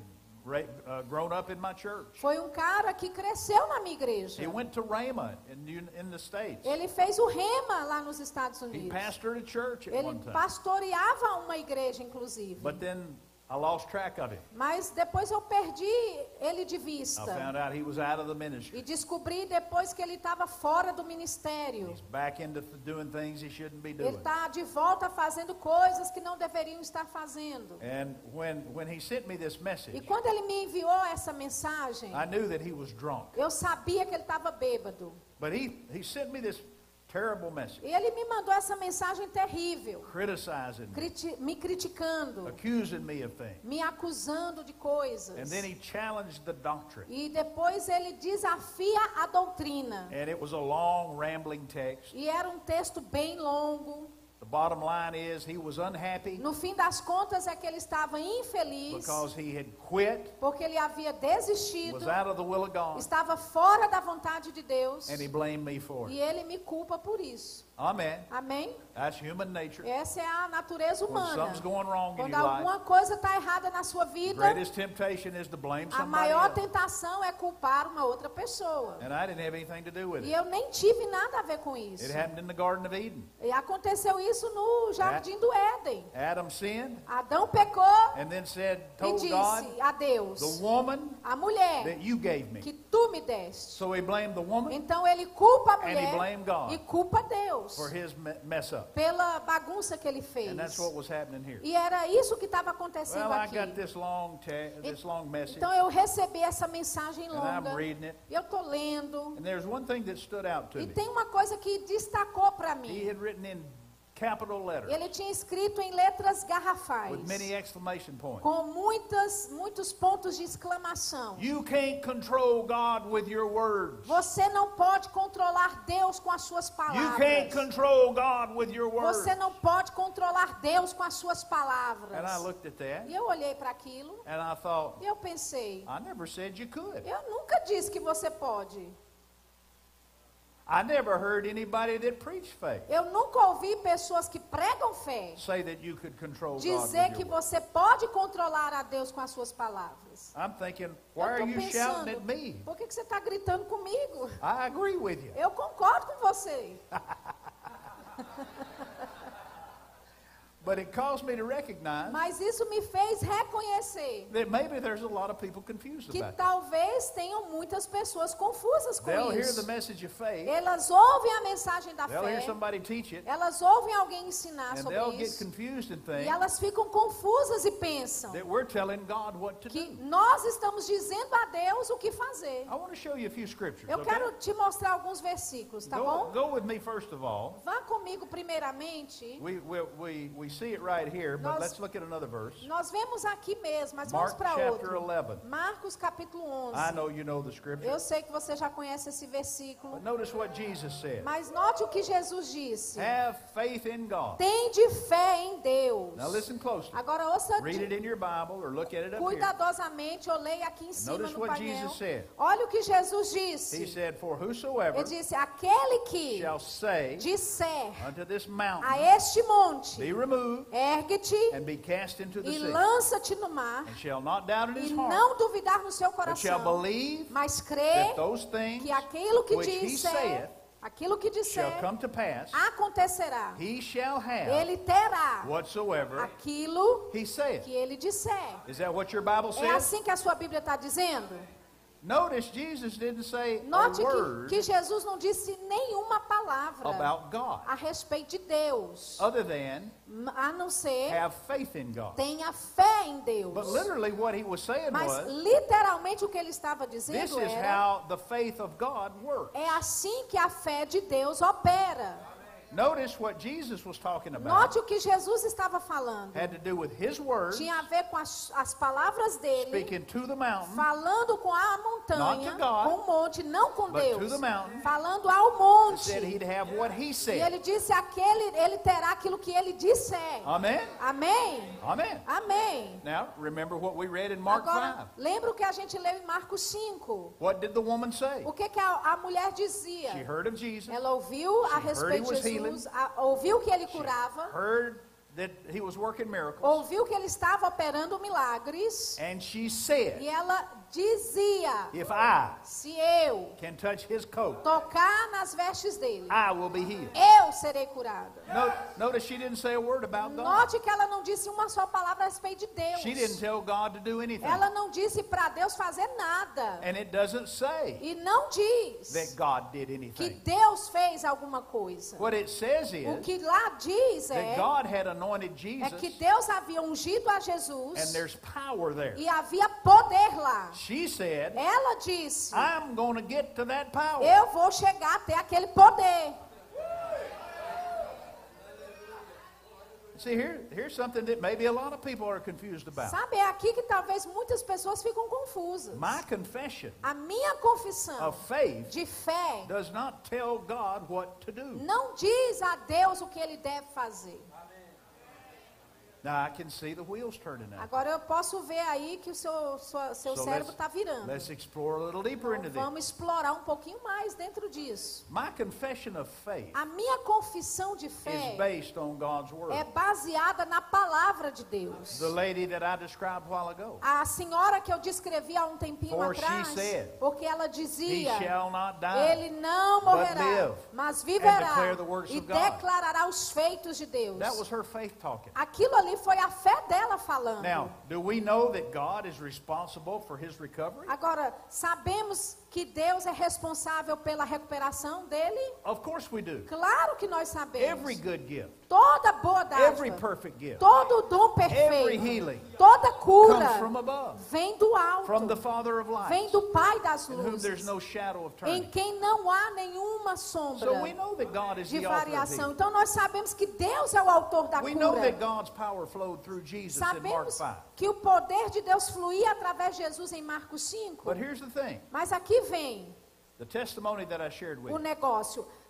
grown up in my church. Foi um cara que cresceu na minha igreja. He went to Rhema in the States. Ele fez o rema lá nos Estados He Unidos. pastored a church at Ele one time. pastoreava uma igreja, inclusive. But then I lost track of him. Mas depois eu perdi ele de I vista. found out he was out of the ministry. E descobri depois que ele estava fora do ministério. He's back into doing things he shouldn't be Ele doing. está de volta fazendo coisas que não deveriam estar fazendo. And when he sent me this E message, quando ele me enviou essa mensagem, I knew that he was drunk. eu sabia que ele estava bêbado. But he sent me this terrible message, E ele me mandou essa mensagem terrível, criticizing me, me criticando, accusing me of things. me acusando de coisas. And then he challenged the doctrine. E depois ele desafia a doutrina. And it was a long, rambling text. E era um texto bem longo. The bottom line is he was unhappy No fim das contas é que ele estava infeliz because he had quit, porque ele havia desistido, was out of the will of God, estava fora da vontade de Deus and he blamed me for e it. ele me culpa por isso. Amen. Amém? That's human nature. Essa é a natureza When humana. something's going wrong in Quando your life, alguma coisa está errada na sua the vida, greatest temptation is to blame a somebody maior else. tentação é culpar uma outra pessoa. And I didn't have anything to do with E it. eu nem tive nada a ver com isso. It happened in the Garden of Eden. E aconteceu isso no Jardim do Éden. Adam sinned Adão pecou and then said, e told God, disse a Deus, the woman a mulher that you gave me. que tu me deste. So he blamed the woman Então ele culpa a and he mulher blamed God e culpa Deus for his mess up. pela bagunça que ele fez. And that's what was happening here. E era isso que estava acontecendo Well, I aqui. got this long message, Então eu recebi essa mensagem and I'm longa. reading it. E eu estou lendo. And there's one thing that stood out to E me. tem uma coisa que destacou para He mim. had written in capital letters Ele tinha escrito em letras garrafais, with many exclamation points. com muitos pontos de exclamação. You can't control God with your words. Você não pode controlar Deus com as suas You can't palavras. control God with your words. Você não pode controlar Deus com as suas And I palavras. looked at that E eu olhei para aquilo and I thought, e eu pensei, I never said you could. eu nunca disse que você pode. I never heard anybody that preached faith Eu nunca ouvi pessoas que pregam fé say that you could control God dizer with que your words. você pode controlar a Deus com as suas palavras. I'm thinking, Eu why are tô you shouting at pensando, me? por que você está gritando comigo? I agree with you. Eu concordo com você. But it caused me to recognize Mas isso me fez reconhecer that maybe there's a lot of people confused que about it. talvez tenham muitas pessoas confusas com They'll hear the isso. message of faith. Elas ouvem a mensagem da They'll hear fé, somebody teach it. elas ouvem alguém ensinar And sobre they'll get isso, confused and e think elas ficam confusas e pensam that we're telling God what to que do. nós estamos dizendo a Deus o que fazer. I want to show you a few scriptures. Eu Okay? quero te mostrar alguns versículos, tá Go, bom? go with me first of all. Vá comigo primeiramente. We see it right here, but Nós- let's look at another verse. Nós vemos aqui mesmo, mas vamos Mark para chapter outro. 11. Marcos capítulo 11. I know you know the scripture. Eu sei que você já conhece esse versículo, But notice what Jesus said. mas note o que Jesus disse. Have faith in God. Tende fé em Deus. Now listen closely. Agora ouça Read it in your Bible or look at it up here. cuidadosamente, eu leio aqui em cima Notice no what painel. Jesus said. Olha o que Jesus He disse. said, for whosoever Ele disse, aquele que shall say disser unto this mountain, a este monte, be removed ergue-te and be cast into the e sea, lança-te no mar, and shall not doubt in e his heart, não duvidar no seu but shall coração, believe mas that crê those things que aquilo que which he disser, saith aquilo que disser, shall come to pass, acontecerá. he shall have Ele terá whatsoever aquilo he saith. que ele disser. Is that what your Bible É says? assim que a sua Bíblia está dizendo? Notice Jesus didn't say Note a word que Jesus não disse nenhuma palavra about God a respeito de Deus, other than a não ser have faith in God. tenha fé em Deus. But literally what he was saying Mas was, literalmente o que ele estava this dizendo is era, how the faith of God works. é assim que a fé de Deus opera. Notice what Jesus was talking about Note o que Jesus estava falando. had to do with his words, Tinha a ver com as palavras dele, speaking to the mountain, falando com a montanha, Not to God, com o monte, não com but Deus. to the mountain. Falando ao monte. said he'd have what he E said. ele disse, ele terá aquilo que ele disser. Amen? Amém? Amen. Amém. Now, remember what we read in Mark Agora, 5. lembra o que a gente leu em Marcos 5? What did the woman say? O que a mulher dizia? She heard of Jesus, Ela ouviu a She heard respeito he was de Jesus, healing. ouviu que ele curava, heard that he was working miracles, ouviu que ele estava operando milagres, and she said, e ela dizia, if I se eu can touch his coat, tocar nas vestes dele, I will be healed. eu serei curada. Notice she didn't say a word about God. Note que ela não disse uma só palavra a respeito de Deus. She didn't tell God to do anything. Ela não disse para Deus fazer nada. And it doesn't say E não diz that God did que anything. Deus fez alguma coisa. What it says O is que lá diz that God had anointed é Jesus, que Deus havia ungido a and Jesus there's power there. e havia poder lá. She said, Ela disse, I'm going to get to that power. eu vou chegar até aquele poder. See, here's something that maybe a lot of people are confused about. Sabe, é aqui que talvez muitas pessoas ficam confusas. My confession A minha confissão of faith de fé does not tell God what to do. não diz a Deus o que ele deve fazer. Now, I can see the wheels turning now. Agora eu posso ver aí que o seu cérebro está virando. let's explore a little deeper into Então, this. vamos explorar um pouquinho mais dentro disso. My confession of faith A minha confissão de is fé based on God's é word. baseada na palavra de Deus. The lady that I described a while ago. A senhora que eu descrevi há um tempinho For she atrás, said, porque ela He dizia, shall not die. ele não but morrerá, live mas and viverá declare the works e of God. declarará os feitos de Deus. That was her faith talking. Aquilo ali foi a fé dela falando. Now, do we know that God is responsible for his recovery? Agora, sabemos que Deus é responsável pela recuperação dele? Of course we do. Claro que nós sabemos. Every good gift, Toda boa every dádiva, perfect gift, todo dom every perfeito, healing toda cura comes from above, vem do from the alto, Father of vem lights, do Pai das in whom there's luzes, no shadow of em turning. quem não há nenhuma sombra So we know that God is de the author of variação. healing. Então nós sabemos que Deus é o autor da We know that cura. God's power flowed through Jesus in Mark Sabemos 5. que o poder de Deus fluía através de Jesus em Marcos 5. But here's the thing, Mas aqui vem the testimony that I shared with o you. negócio.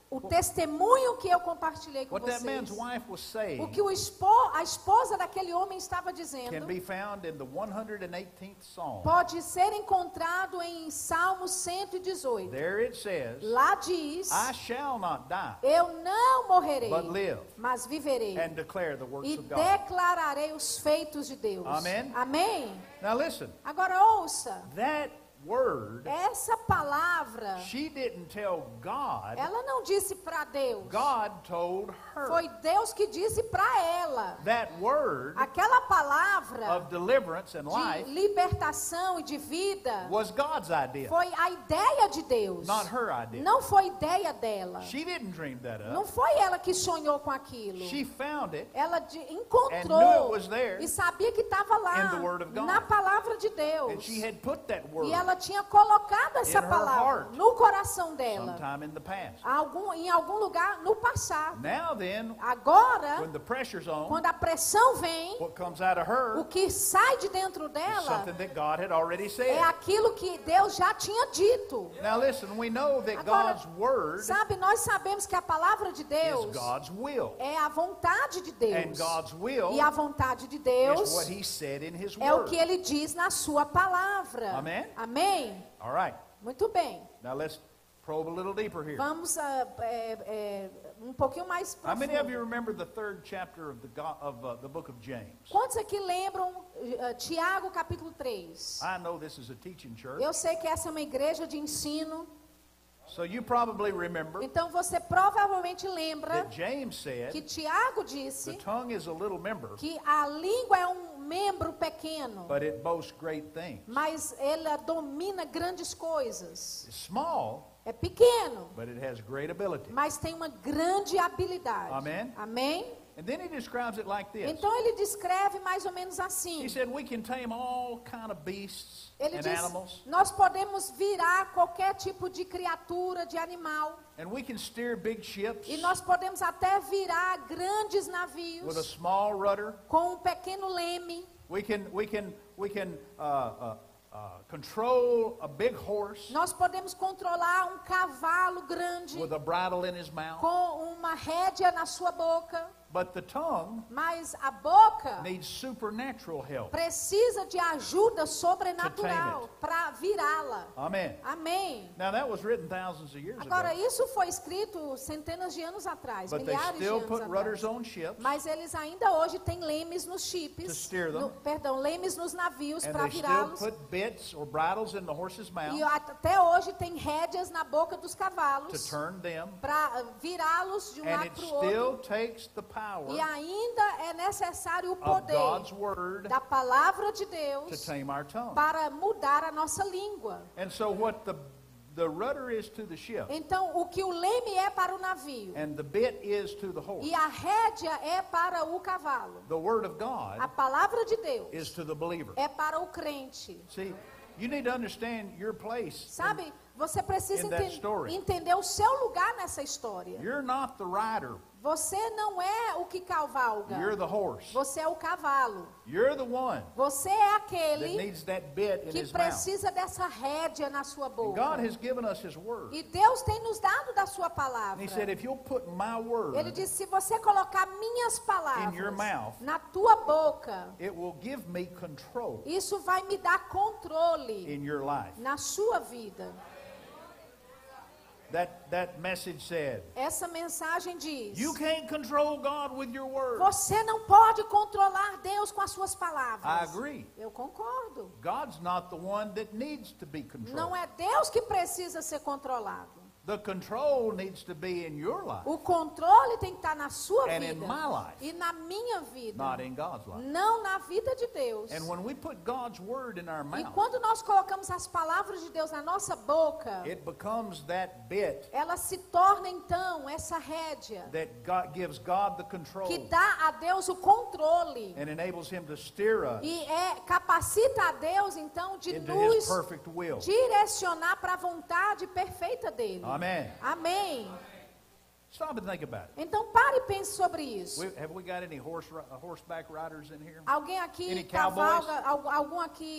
o testemunho que eu compartilhei com What that vocês, man's wife was o saying que a esposa daquele homem estava can dizendo, be found in the 118th Psalm. pode ser encontrado em Salmo 118. There it says, Lá diz, I shall not die, eu não morrerei, but live mas viverei and declare the works e of God. declararei os feitos de Deus. Amém? Amém? Now listen, Agora ouça, that word, essa palavra, she didn't tell God, ela não disse para Deus, God told her. foi Deus que disse para ela. That word Aquela palavra of deliverance and de life libertação e de vida was God's idea, foi a ideia de Deus. not her idea. Não foi ideia dela. She didn't dream that Não up. foi ela que sonhou com aquilo. She found it Ela and knew encontrou it was there e sabia que estava lá in the Word of God. na palavra de and Deus. she had put that word E ela tinha colocado essa in her palavra heart no coração dela, sometime in the past. em algum lugar no passado. Now then, Agora, when the pressure's on, quando a pressão vem, what comes out of her o que sai de dentro is dela something that God had already é said. aquilo que Deus já tinha dito. Now listen, we know that Agora, God's word sabe, nós sabemos que a palavra de is Deus God's will. é a vontade de And Deus. God's will E a vontade de is Deus what He said in His é o word. que ele diz na sua palavra. Amém? Amém? All right. Muito bem. Now let's probe a little deeper here. Vamos um pouquinho mais How many of you profundo. remember the third chapter of the book of James? Quantos aqui lembram Tiago capítulo 3? I know this is a teaching church, Eu sei que essa é uma igreja de ensino. so you probably remember Então você provavelmente lembra that James said que Tiago the disse tongue is a little member, que a língua é um membro pequeno, but it boasts great things. mas ela domina grandes coisas. It's small, É pequeno, but it has great ability. mas tem uma grande habilidade. Amém? Amém? And then he describes it like this. Então ele descreve mais ou menos assim. He said we can tame all kind of beasts Ele and diz, animals, nós podemos virar qualquer tipo de criatura, de animal, and we can steer big ships e nós podemos até virar grandes with a navios small rudder. com um pequeno leme. We can control a big horse Nós podemos controlar um cavalo grande with a bridle in his mouth. com uma rédea na sua boca, But the tongue mas a boca needs supernatural help. precisa de ajuda To sobrenatural tame para virá-la. Amen. Amém. Now that was written thousands of years Agora, ago. isso foi escrito centenas de anos atrás, But they milhares de still anos put rudders atrás. on ships, Mas eles ainda hoje têm lemes nos To chips, steer them. lemes nos navios and para they still virá-los. put bits or bridles in the horse's E mouth até hoje tem rédeas na boca dos to cavalos turn them, para virá-los de um and lado it para o outro. still takes the power E ainda é necessário o of poder God's word da palavra de to Deus tame our tongue. para mudar a nossa língua. And so what the rudder is to the ship, Então, o que o leme é para o navio and the bit is to the horse, e a rédea é para o cavalo, the word of a God palavra de Deus is to the believer. é para o crente. See, you need to understand your place. Sabe, você precisa in that story. entender o seu lugar nessa história. You're not the rider, Você não é o que cavalga. you're the horse. Você é o cavalo. You're the one Você é that aquele needs that bit in que his mouth. precisa dessa rédea na sua And boca. God has given us his word. E Deus tem nos dado da sua And palavra. he said, if you'll put my Ele word, disse, se você colocar minhas palavras In your mouth, na tua boca, it will give me control isso vai me dar controle in your life. na sua vida. That message said, Essa mensagem diz, you can't control God with your word. você não pode controlar Deus com as suas palavras. I agree. Eu concordo. God's not the one that needs to be controlled. Não é Deus que precisa ser controlado. The control needs to be in your life, O controle tem que estar na sua And vida in my life. e na minha vida, not in God's life. não na vida de Deus. And when we put God's word in our E mouth, quando nós colocamos as palavras de Deus na nossa boca, it becomes that bit ela se torna então essa rédea that gives God the control que dá a Deus o controle and enables him to steer us e capacita a Deus então de into his nos perfect will. direcionar para a vontade perfeita dele. Amen. Amém. Stop and think about it. Então pare e pense sobre isso. Have we got any horseback riders in here? Alguém aqui Any cavalga,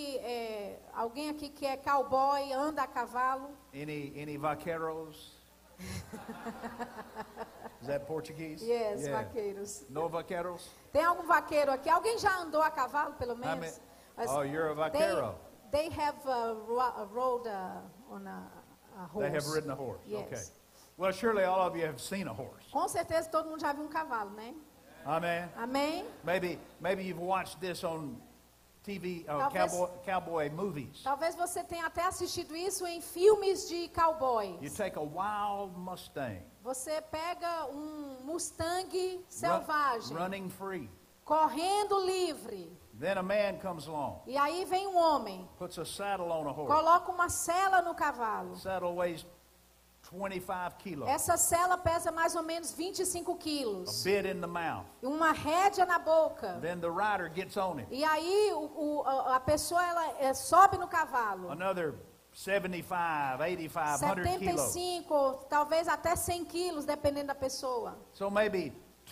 alguém aqui que é cowboy, anda a cavalo? Any vaqueros? Is that Portuguese? Yes, Yeah. vaqueiros. No vaqueros? Tem algum vaqueiro aqui? Alguém já andou a cavalo, pelo I menos? mean, Mas oh, you're a vaquero. They have rode on a horse. They have ridden a horse. Yes. Okay. Well, surely all of you have seen a horse. Com certeza todo mundo já viu um cavalo, né? Amen. Amém? Maybe you've watched this on TV, Talvez- cowboy movies. Talvez você tenha até assistido isso em filmes de cowboys. You take a wild Mustang, Você pega um Mustang selvagem, running free. correndo livre. Then a man comes along, E aí vem um homem, puts a saddle on a horse. coloca uma sela no cavalo. The saddle weighs 25 kilos. Essa sela pesa mais ou menos 25 A quilos. bit in the mouth. Uma rédea na boca. Then the rider gets on him. E aí a pessoa sobe no cavalo. Another 75, 85, 100 kilos. 75, talvez até 100 quilos, dependendo da pessoa. So maybe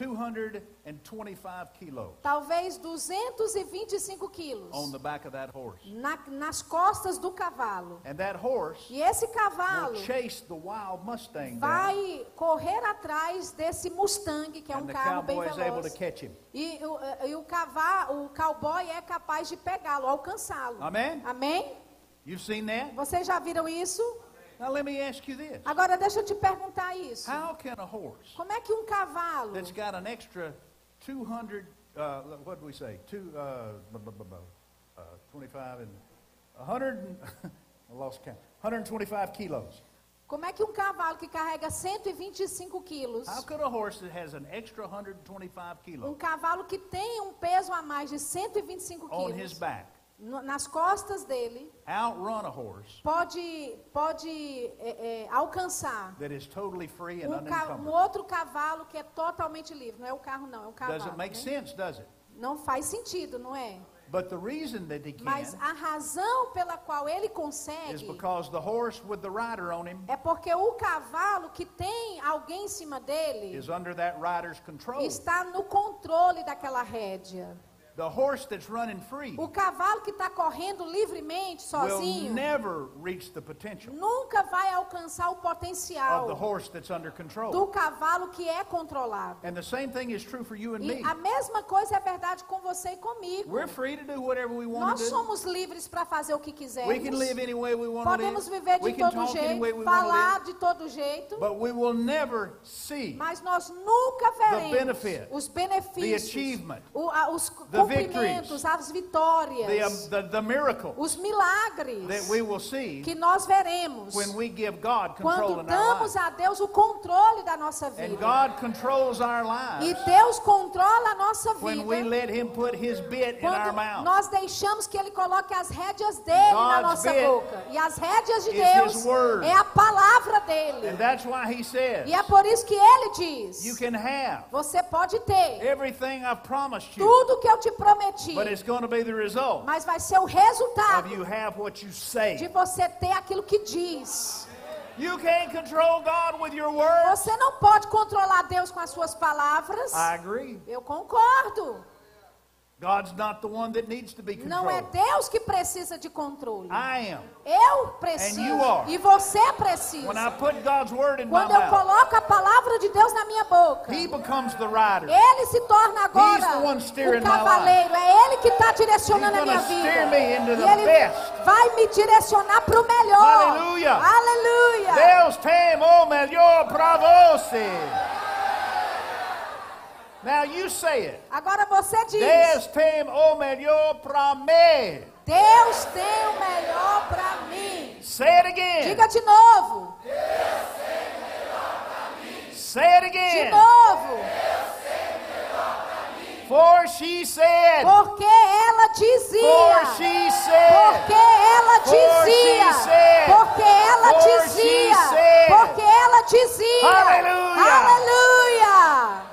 225 kilos Talvez 225 quilos on the back of that horse. nas costas do cavalo. And that horse E esse will cavalo chase the wild Mustang down. vai correr atrás desse Mustang, que é And um the carro bem cowboy is able to veloz. catch him. E o cowboy é capaz de pegá-lo, alcançá-lo. Amen? Amém? You've seen that? Vocês já viram isso? Now let me ask you this. Agora deixa eu te perguntar isso. How can a horse Como é que um cavalo that's got an extra 200, what do we say? 25 and 100, I lost count. 125 kilos. Como é que um cavalo que carrega 125 quilos, How could a horse that has an extra 125 kilos cavalo que tem um peso a mais de 125 on his quilos, back nas costas dele, outrun a horse pode alcançar that is totally free and um unencumbered? outro cavalo que é totalmente livre? Não é o carro, não, é o cavalo. Does it make né? sense, does it? Não faz sentido, não é? But the reason that he can Mas a razão pela qual ele is consegue because the horse with the rider on him é porque o cavalo que tem alguém em cima dele is under that rider's control. está no controle daquela rédea. The horse that's running free O cavalo que está correndo livremente, will sozinho, never reach the potential nunca vai alcançar o of the potencial horse that's under control. do cavalo que é controlado. And the same thing is true for you and E me. a mesma coisa é verdade com você e comigo. We're free to do whatever we want Nós to do. somos livres para fazer o que We can quisermos. live any way we want to Podemos live. viver We de can todo talk any way jeito, we want to falar live. de todo jeito, But we will never see mas nós nunca veremos benefit, os the benefícios, achievement, os the cumprimentos, as vitórias, the miracle os milagres that we will see que nós veremos when we give God control quando in our damos lives. a Deus o controle da nossa And vida. God controls our E lives Deus controla a nossa when we vida let Him put His bit in our quando mouth. nós deixamos que Ele coloque as rédeas dele na God's nossa bit boca. E as rédeas de is Deus His word. é a palavra dele. And that's why He says, E é por isso que Ele diz, you can have você pode ter everything I've promised you, tudo que eu te prometi, but it's going to be the result mas vai ser o of resultado you have what you de say. você ter aquilo que diz. You can't control God with your words. Você não pode controlar Deus com as suas palavras. I agree. Eu concordo. God's not the one that needs to be Não é controlled. Deus que precisa de controle. I am. Eu preciso. And you are. E você precisa. When I put God's word in my Quando eu mouth, coloco a palavra de Deus na minha boca, He becomes the rider. Ele se torna agora He's the one steering o my cavaleiro. É Ele que está direcionando He's a minha gonna steer vida. me into E the Ele best. vai me direcionar para o melhor. Aleluia. Aleluia. Deus tem o melhor para você. Now you say it. Agora você diz: Deus tem o melhor para mim. Deus tem o melhor para mim. Say it again. Diga de novo. Say it De again. novo. For she said. Porque ela dizia. For she said. Porque ela For dizia. she said. Porque ela For she dizia. said. Porque ela dizia. Aleluia. Aleluia.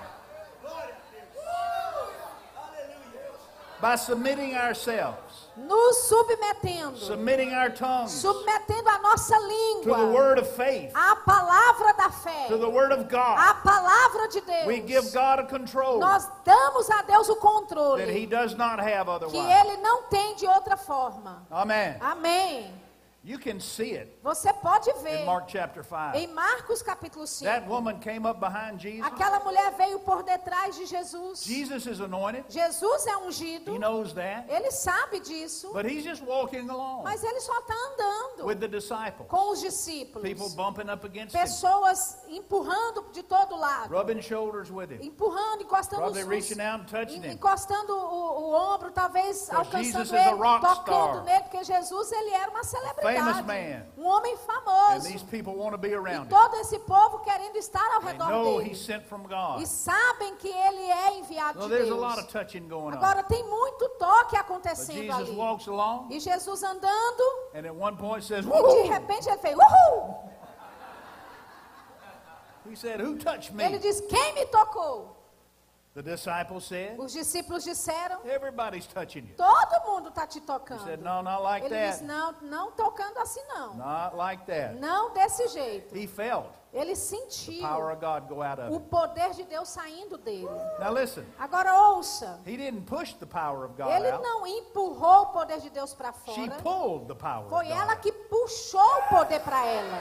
By submitting ourselves, Nos submetendo. submitting our tongues Submetendo a nossa to língua. the word of faith, A palavra da fé. to the word of God, A palavra de we give Deus. God a control Nós damos a Deus o that controle He does not have que otherwise. Ele não tem de outra forma. Amen. Amém. You can see it Você pode in ver Mark chapter 5. em Marcos capítulo 5. That woman came up behind Jesus. Aquela mulher veio por detrás de Jesus. Jesus is anointed. Jesus é ungido. He knows that. Ele sabe disso. But he's just walking along Mas ele só está andando with the disciples. com os discípulos. People bumping up against him, Pessoas empurrando de todo lado. rubbing shoulders with him, Empurrando, encostando probably os reaching out and touching him. encostando o ombro, talvez Jesus alcançando is a ele, rock tocando star. nele, porque Jesus ele era uma celebridade, Famous man. um homem And famoso. these people want to be E around him. todo esse povo querendo estar ao They redor know dele. he's sent from God. E sabem que ele é enviado Well, de there's a lot Deus. of touching going on. Agora tem muito toque But acontecendo Jesus ali. walks along, E Jesus andando, and at one point says, e de "Woo!" repente ele fez, uhul! He said, "Who touched Ele me?" diz, quem me tocou? The disciples said, Os discípulos disseram, "Everybody's touching you." todo mundo está te He tocando. said, "No, not like Ele diz, that. não, não tocando assim não. Not like that." Não desse jeito. He felt Ele the sentiu power of God go out of o him. poder de Deus saindo dele. Now listen, Agora ouça. he didn't push the power of God Ele out. não empurrou o poder de Deus para She fora. pulled the power of Foi God ela out. que puxou o poder para ela.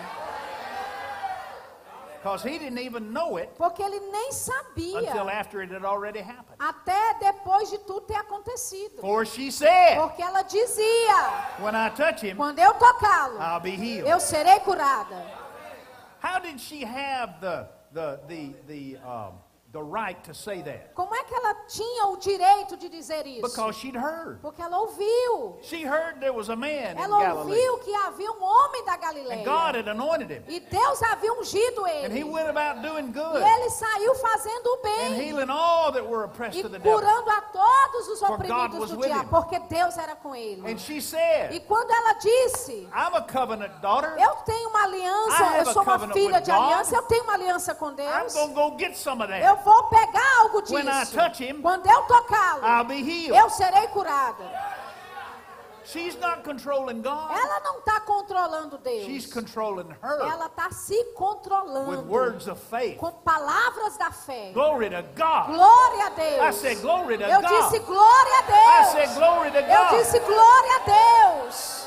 Because he didn't even know it Porque ele nem sabia. until after it had already happened. Até depois de tudo ter acontecido. For she said, Porque ela dizia, "When I touch him, quando eu tocá-lo, I'll be healed." eu serei curada. How did she have the right to say that? Como é que ela tinha o direito de dizer isso? Because she'd heard. Porque ela ouviu. She heard there was a man in Ela Galilee. ouviu que havia um homem da Galileia. And God had anointed him. E Deus havia ungido And he ele. went about doing E good ele saiu fazendo o and bem. healing all that were oppressed E of the devil. curando a todos os God oprimidos was do with diabo. him. Porque Deus era com ele. And she said, E quando ela disse, "I'm a covenant daughter. eu tenho uma aliança, I have eu sou a uma covenant filha with de God. aliança, eu tenho uma aliança com I'm Deus. going to go get some of Eu that. vou pegar algo disso. When I touch him, Quando eu tocá-lo, I'll be healed." eu serei curada. She's not controlling God. Ela não está controlando She's Deus. controlling her Ela está se with controlando words of faith. com palavras da fé. Glory to God. Glória a I Deus. said, glory to Eu God. disse glória a I said, Deus. glory to Eu God. disse glória a Deus.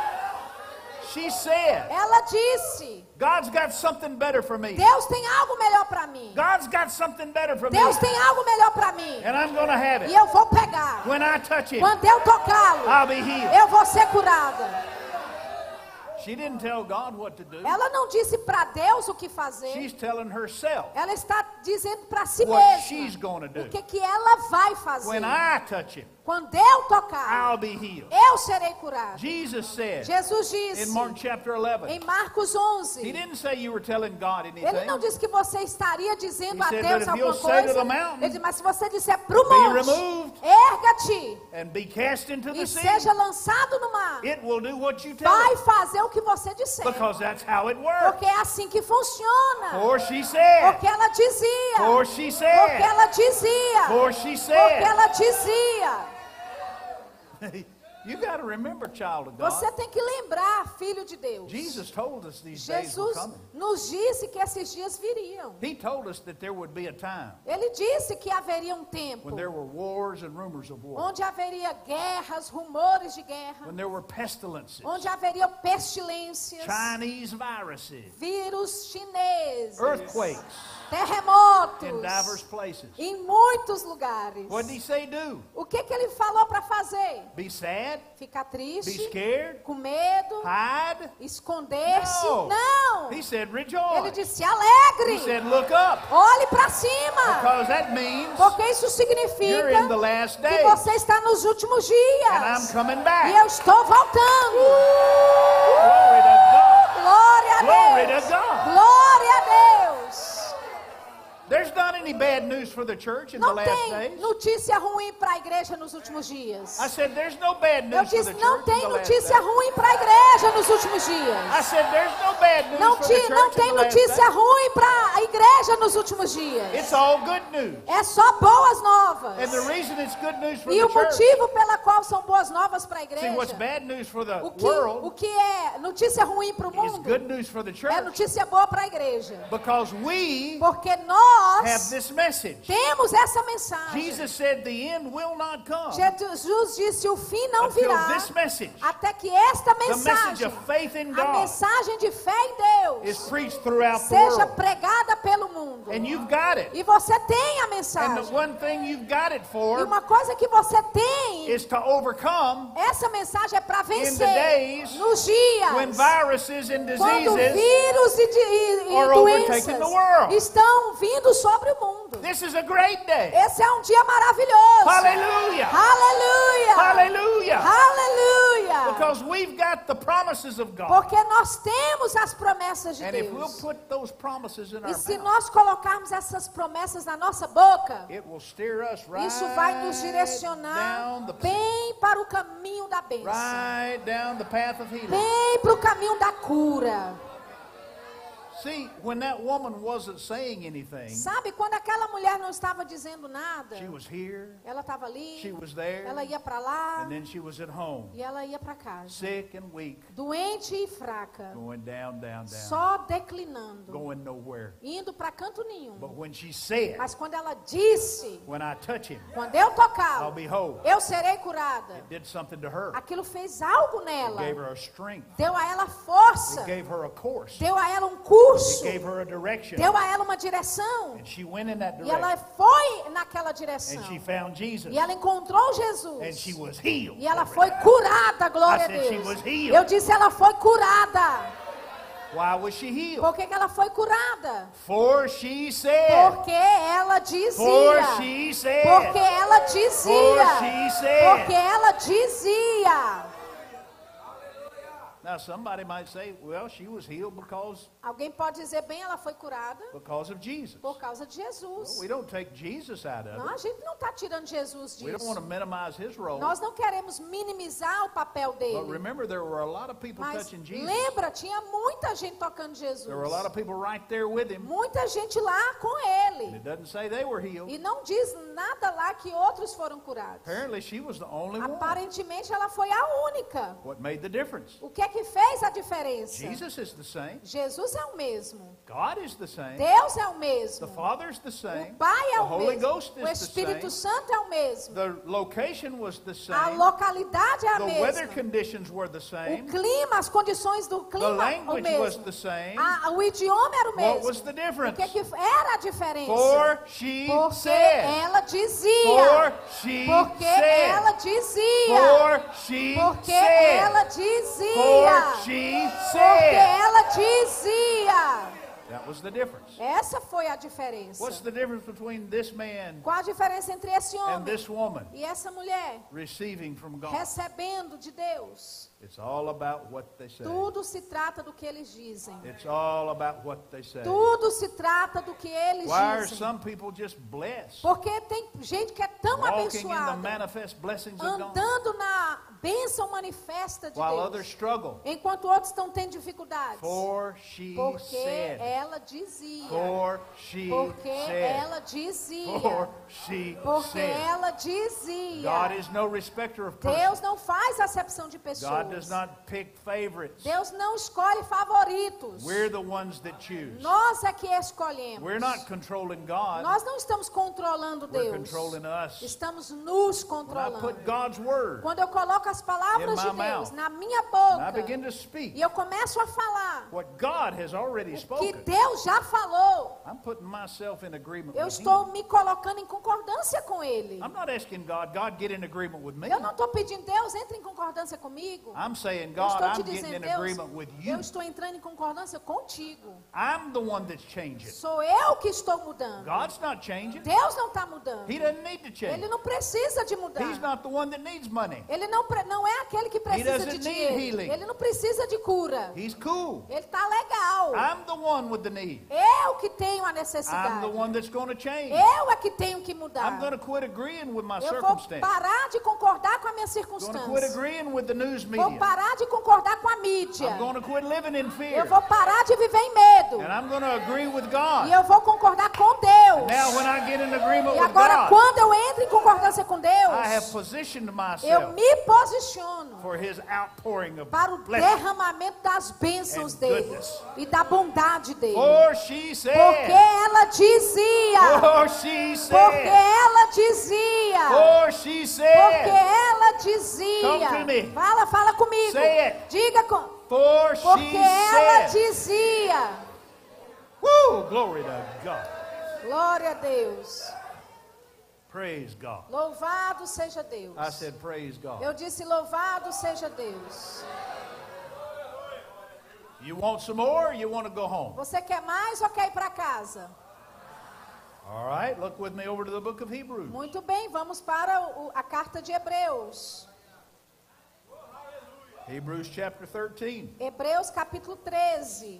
She said, Ela disse, God's got something better for me. Deus tem algo melhor para mim. God's got something better for me. Deus tem algo melhor para mim. And I'm going to have E it. eu vou pegar. When I touch him, Quando eu tocá-lo, I'll be healed. eu vou ser curada. She didn't tell God what to do. Ela não disse para Deus o que fazer. She's telling herself Ela está dizendo para si what she's mesma going to do. o que ela vai fazer. When I touch him, Quando eu tocar, I'll be healed. eu serei curada. Jesus said Jesus in disse Mark chapter 11, em Marcos he 11, didn't say you were telling God ele não anything. disse que você estaria dizendo He a said, Deus "But if you'll alguma say to coisa. the mountain, Ele disse, mas se você disser para o be monte, removed erga-te and be cast into the e sea, seja lançado no mar, it will do what you tell vai it. fazer o que você disser. Because that's how it works. Porque é assim que funciona. For she said, Porque ela dizia. for she Porque said, ela dizia. for she Porque said. ela dizia. You got to remember, child of God. Você tem que lembrar, filho de Deus. Jesus told us these days were Jesus coming. nos disse que esses dias viriam. He told us that there would be a time Ele disse que haveria um tempo when there were wars and rumors of war, onde haveria guerras, rumores de guerra, when there were pestilences, onde haveria pestilências, Chinese viruses, vírus chineses, earthquakes terremotos, in diverse places. em muitos lugares. What did he say do? O que ele falou para fazer? Be sad? Ficar Be triste, scared? com medo, Hide? esconder-se? No. Não. He said Ele rejoice. disse He alegre. said look up. Olhe para cima. Because that means Porque isso you're significa in the last que days. você está nos últimos And I'm dias. coming E back. eu estou voltando. Glory to God. Glória Glory a Deus. to God. Glória a Deus. There's not any bad news for the church in the Não last tem days. notícia ruim para a igreja nos últimos dias. I said there's no bad Eu news for disse, the não church in tem the last notícia days. ruim para a igreja nos últimos I dias. said there's no bad news Não, for the church não in tem the last notícia days. ruim para a igreja nos últimos dias. It's all good news. É só boas novas. And the reason it's good news for E the o church, motivo pela qual são boas novas para a see what's igreja, bad news for the o world que é notícia ruim para o is mundo, good news for the é church. notícia boa para a igreja. Because we Porque nós have nós this message. temos essa mensagem. Jesus said the end will not come Jesus disse: o fim não until virá this message, até que esta the message mensagem, of faith in a God, mensagem de fé em is Deus, preached throughout the seja world. pregada pelo mundo. And you've got it. E você tem a And the mensagem. one thing you've got it E for uma coisa que você tem, is to overcome essa mensagem é para in the vencer days nos when dias viruses and quando diseases. vírus e are overtaking the world. doenças estão vindo sobre o mundo. This is a great day. Esse é um dia maravilhoso. Hallelujah. Aleluia. Hallelujah. Aleluia. Because we've got the promises of God. Porque nós temos as promessas de And if we'll Deus. put those promises in E our se mouth, nós colocarmos essas promessas na nossa boca, it will steer us right isso vai nos direcionar down the bem para o caminho da bênção. right down the path of healing. Bem para o caminho da cura. See, when that woman wasn't saying anything, Sabe, quando aquela mulher não estava dizendo nada, she was here, ela estava ali, she was there, ela ia para lá and then she was at home, e ela ia para casa. sick and weak, Doente e fraca, going down, down, down, só declinando, going nowhere. indo para canto nenhum. But when she said, Mas quando ela disse, when I touch him, quando eu I'll tocá-lo, be whole, eu serei curada, it did something to her. aquilo fez algo It nela. gave her a strength. Deu a ela força, It gave her a course. deu a ela um It curso, gave her a direction. deu a ela uma direção. And she went in that E ela direction. foi naquela direção. And she found Jesus. E ela encontrou And Jesus. she was healed. E ela foi curada, glória a I said she Deus. was healed. Eu disse, ela foi curada. Why was she healed? Por que que ela foi curada? For she said. Porque ela For dizia. she said. Porque ela dizia. For she said. Porque ela dizia. Now somebody might say, well, she was healed because Alguém pode dizer, bem, ela foi curada of Jesus. por causa de Jesus. We don't take Jesus out of Não, a it. gente não está tirando Jesus We don't want to disso. minimize his role. Nós não queremos minimizar o papel But dele. remember, there were a lot of people Mas touching Jesus. lembra, tinha muita gente tocando Jesus. There were a lot of people right there with him. Muita gente lá com And ele. it doesn't say they were healed. E não diz nada lá que outros foram curados. Apparently, she was the only one. Aparentemente ela foi a única. What made the difference? O que é que fez a diferença? Jesus is the same. Jesus é o mesmo. God is the same. Deus é o The mesmo. Father's the same. O Pai é The o Holy mesmo. Ghost O is the Espírito same. Santo é o mesmo. The location was the A same. localidade é a The weather mesma. conditions were the O same. clima, as condições do The clima, o language was mesmo. the same. O idioma era o What was mesmo. the O difference? que era a diferença? For she Porque said. ela dizia. For she Porque said. ela dizia. For she Porque said. ela dizia. For she Porque said. ela dizia. That was the difference. Essa foi a diferença. What's the difference between this man Qual a diferença entre esse and homem this woman e essa mulher? receiving from God? Recebendo de Deus. It's all about what they say. Tudo se trata do que eles dizem. It's all about what they say. Tudo se trata do que eles Why are dizem. some people just blessed? Porque tem gente que é tão Walking in the abençoada, manifest blessings of God, andando na bênção manifesta de while Deus, others struggle. enquanto outros estão tendo dificuldades. For she Porque said. ela dizia. For she Porque said. ela dizia. For she Porque said. ela dizia. God is no respecter of Deus persons. não faz acepção de God does pessoas. not pick favorites. Deus não escolhe favoritos. We're the ones that choose. Nós é que escolhemos. We're not controlling God. Nós não estamos controlando We're Deus. controlling us. Estamos nos When I controlando. put God's word Quando eu coloco as palavras in de my Deus mouth, na minha and I boca begin to speak e eu começo a falar what God has already o que spoken, Deus já falou, I'm putting myself in agreement eu with estou Him. me colocando em concordância com Ele. I'm not asking God, get in agreement with me. Eu não estou pedindo, Deus, entre em concordância comigo. I'm saying, Eu God, estou te I'm getting in dizendo, Deus, agreement with you. eu estou entrando em concordância contigo. I'm the one that's changing. Sou eu que estou mudando. God's not changing. Deus não está mudando. He doesn't need to change. Ele não precisa de mudar. He's not the one that needs money. Ele não é aquele que precisa doesn't de need dinheiro. healing. Ele não precisa de cura. He's cool. Ele está legal. I'm the one with the need. Eu que tenho a I'm necessidade. the one that's going to change. Eu é que tenho que mudar. I'm going to quit agreeing with my Eu vou circumstance. parar de concordar com a minha I'm going to quit circunstância. agreeing with the news Vou media. parar de concordar com a mídia. I'm going to quit living in Eu fear. vou parar de viver em medo. And I'm going to agree with E God. eu vou concordar com And Deus. Now when I get in agreement E with agora, God, quando eu entro em concordância com I have Deus, positioned eu myself me posiciono for His outpouring of para o blessing. derramamento das bênçãos and dele goodness. e da bondade dele. For she said, Porque ela dizia, for she porque said, ela dizia, for she porque said, ela dizia. Come to me. Fala comigo. Say it. Diga for porque she ela said. dizia. Woo, glory to God. Glória a Deus. Praise God. Louvado seja Deus. I said, praise God. Eu disse louvado seja Deus. You want some more or you want to go home? Você quer mais ou quer ir para casa? All right, look with me over to the book of Hebrews. Muito bem, vamos para a carta de Hebreus. Hebrews chapter 13. Hebreus capítulo 13.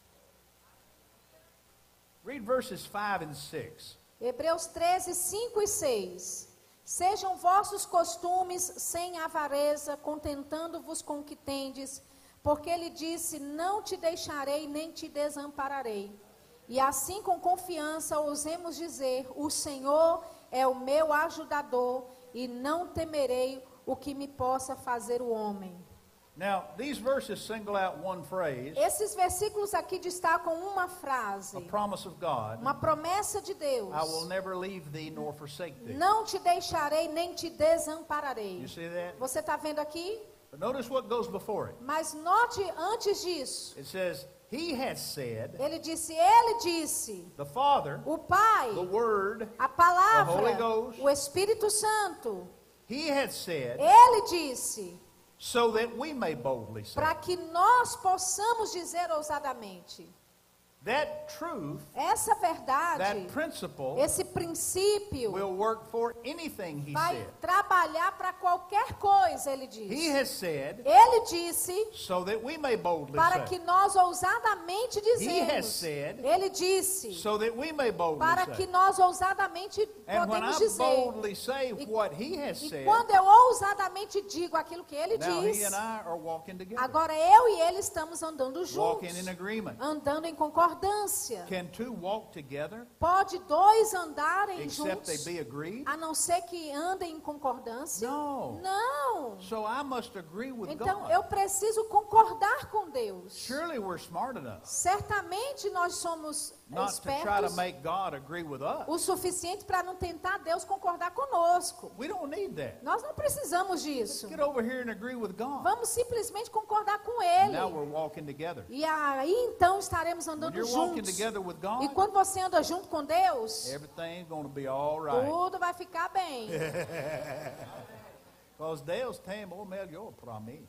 Read verses 5 and 6. Hebreus 13, 5 e 6. Sejam vossos costumes sem avareza, contentando-vos com o que tendes, porque ele disse, não te deixarei nem te desampararei. E assim com confiança ousemos dizer, o Senhor é o meu ajudador, e não temerei o que me possa fazer o homem. Now, these verses single out one phrase, Esses versículos aqui destacam uma frase, a promise of God. uma promessa de Deus. I will never leave thee nor forsake thee. Não te deixarei nem te desampararei. You see that? Você está vendo aqui? But notice what goes before it. Mas note antes disso, It says, He has said, ele disse, the Father, o Pai, the Word, a the Holy palavra, Ghost, o Espírito Santo, He has said, ele disse, so that we may boldly say. para que nós possamos dizer ousadamente. That truth, Essa verdade, that principle, esse princípio, will work for anything He vai said. trabalhar para qualquer coisa, ele He disse. has said, Ele disse, so that we may boldly para say. que nós ousadamente He has dizemos. said, Ele disse, so that we may boldly para say. que nós ousadamente And when podemos I dizer. boldly say E- what He has E said, quando eu ousadamente digo aquilo que ele now He diz, and I are walking together, agora eu e ele estamos andando walking juntos, in agreement. andando em concordância. Can two walk together Pode dois andarem except they juntos, be agreed? a não ser que andem em concordância? No. Não. So I must agree with Então God. eu preciso concordar com Deus. Surely we're smart enough Certamente nós somos not to try to espertos make God agree with us. o suficiente para não tentar Deus concordar conosco. We don't need that. Nós não precisamos disso. Get over here and agree with God. Vamos simplesmente concordar com Now Ele. we're walking together. E aí então estaremos When andando you're walking juntos. together with E God, quando você anda junto com Deus, everything's going to be all right. tudo vai ficar bem. Because Deus tem o melhor para mim.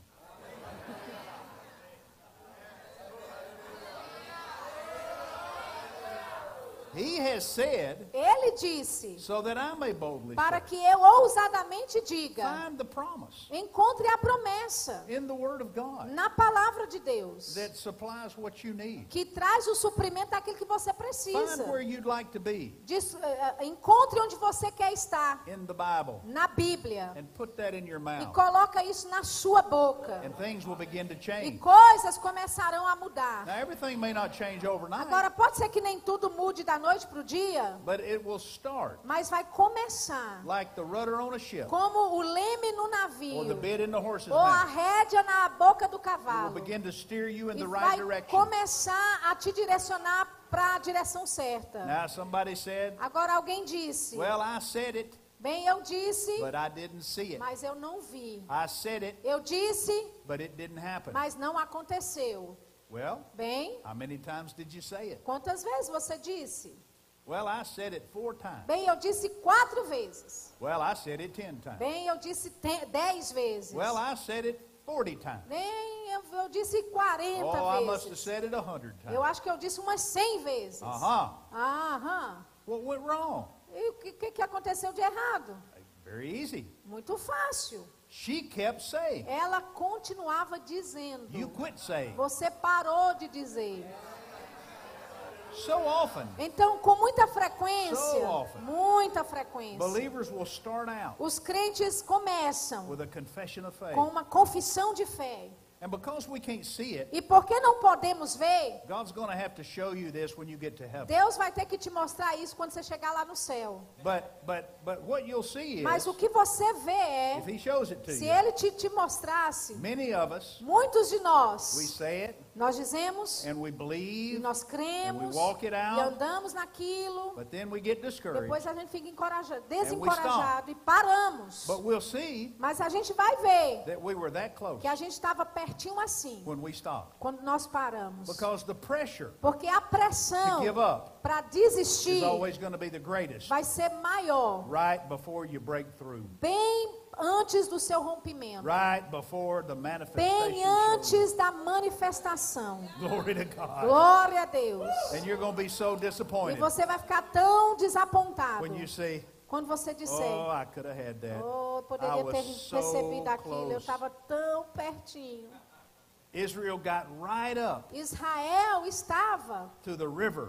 He has said, Ele disse, so that I may boldly para say. que eu ousadamente diga, Find the promise encontre a promessa in the Word of God na palavra de Deus, that supplies what you need. que traz o suprimento daquilo que você Find precisa. where you'd like to be Encontre onde você quer estar, in the Bible na Bíblia, and put that in your e mouth. coloca isso na sua boca. And things will begin to E change. coisas começarão a mudar. Now, everything may not change overnight, Agora, pode ser que nem tudo mude da noite para o dia, but it will start mas vai começar like the rudder on a ship como o leme no or the navio, bit in the horse's ou a mouth. rédea na boca do It will cavalo. begin to steer you in E the right vai direction. começar a te direcionar para a direção certa. Now, somebody said, Agora, alguém disse, well, I said it, bem, eu disse, but I didn't see it. mas eu não vi. I said it, Eu disse, but it didn't happen. mas não aconteceu. Well, Bem, how many times did you say it? quantas vezes você disse? Well, I said it 4 times. Bem, eu disse 4 vezes. Well, I said it 10 times. Bem, eu disse 10 vezes. Well, I said it 40 times. Bem, eu disse 40 Oh, I must have vezes. said it 100 Eu times. acho que eu disse umas 100 vezes. Uh-huh. Aham. What went wrong? E o que aconteceu de errado? Very easy. Muito fácil. She kept saying. Ela continuava dizendo. You quit saying. Você parou de dizer. So often, Então, com muita frequência, So often. muita frequência, believers will start out os crentes começam with a confession of faith. com uma confissão de fé. And because we can't see it, E porque não podemos ver, God's going to have to show you this when you get to heaven. Deus vai ter que te mostrar isso quando você chegar lá no céu. But what you'll see Mas is, o que você vê é, if He shows it to se you, Ele te mostrasse, many of us, muitos de we nós, say it nós dizemos, and we e believe, nós cremos, and we walk it e out, andamos naquilo, but then we get discouraged. depois a gente fica And desencorajado e paramos. But we'll see Mas a gente vai ver that we were that close que a gente estava pertinho assim, when we stopped. quando nós paramos. Because the pressure Porque a to pressão give up para is desistir always going to be the greatest vai ser maior, right before you break through. bem antes do seu rompimento, Right before the bem manifestation shows. antes da manifestação. Glory to God. Glória a Deus. And you're going to be so E disappointed você vai ficar tão desapontado when you say, quando você disser, oh, I could have had that. oh, eu I poderia was ter so recebido aquilo, eu close. estava tão pertinho. Israel got right up Israel estava to the river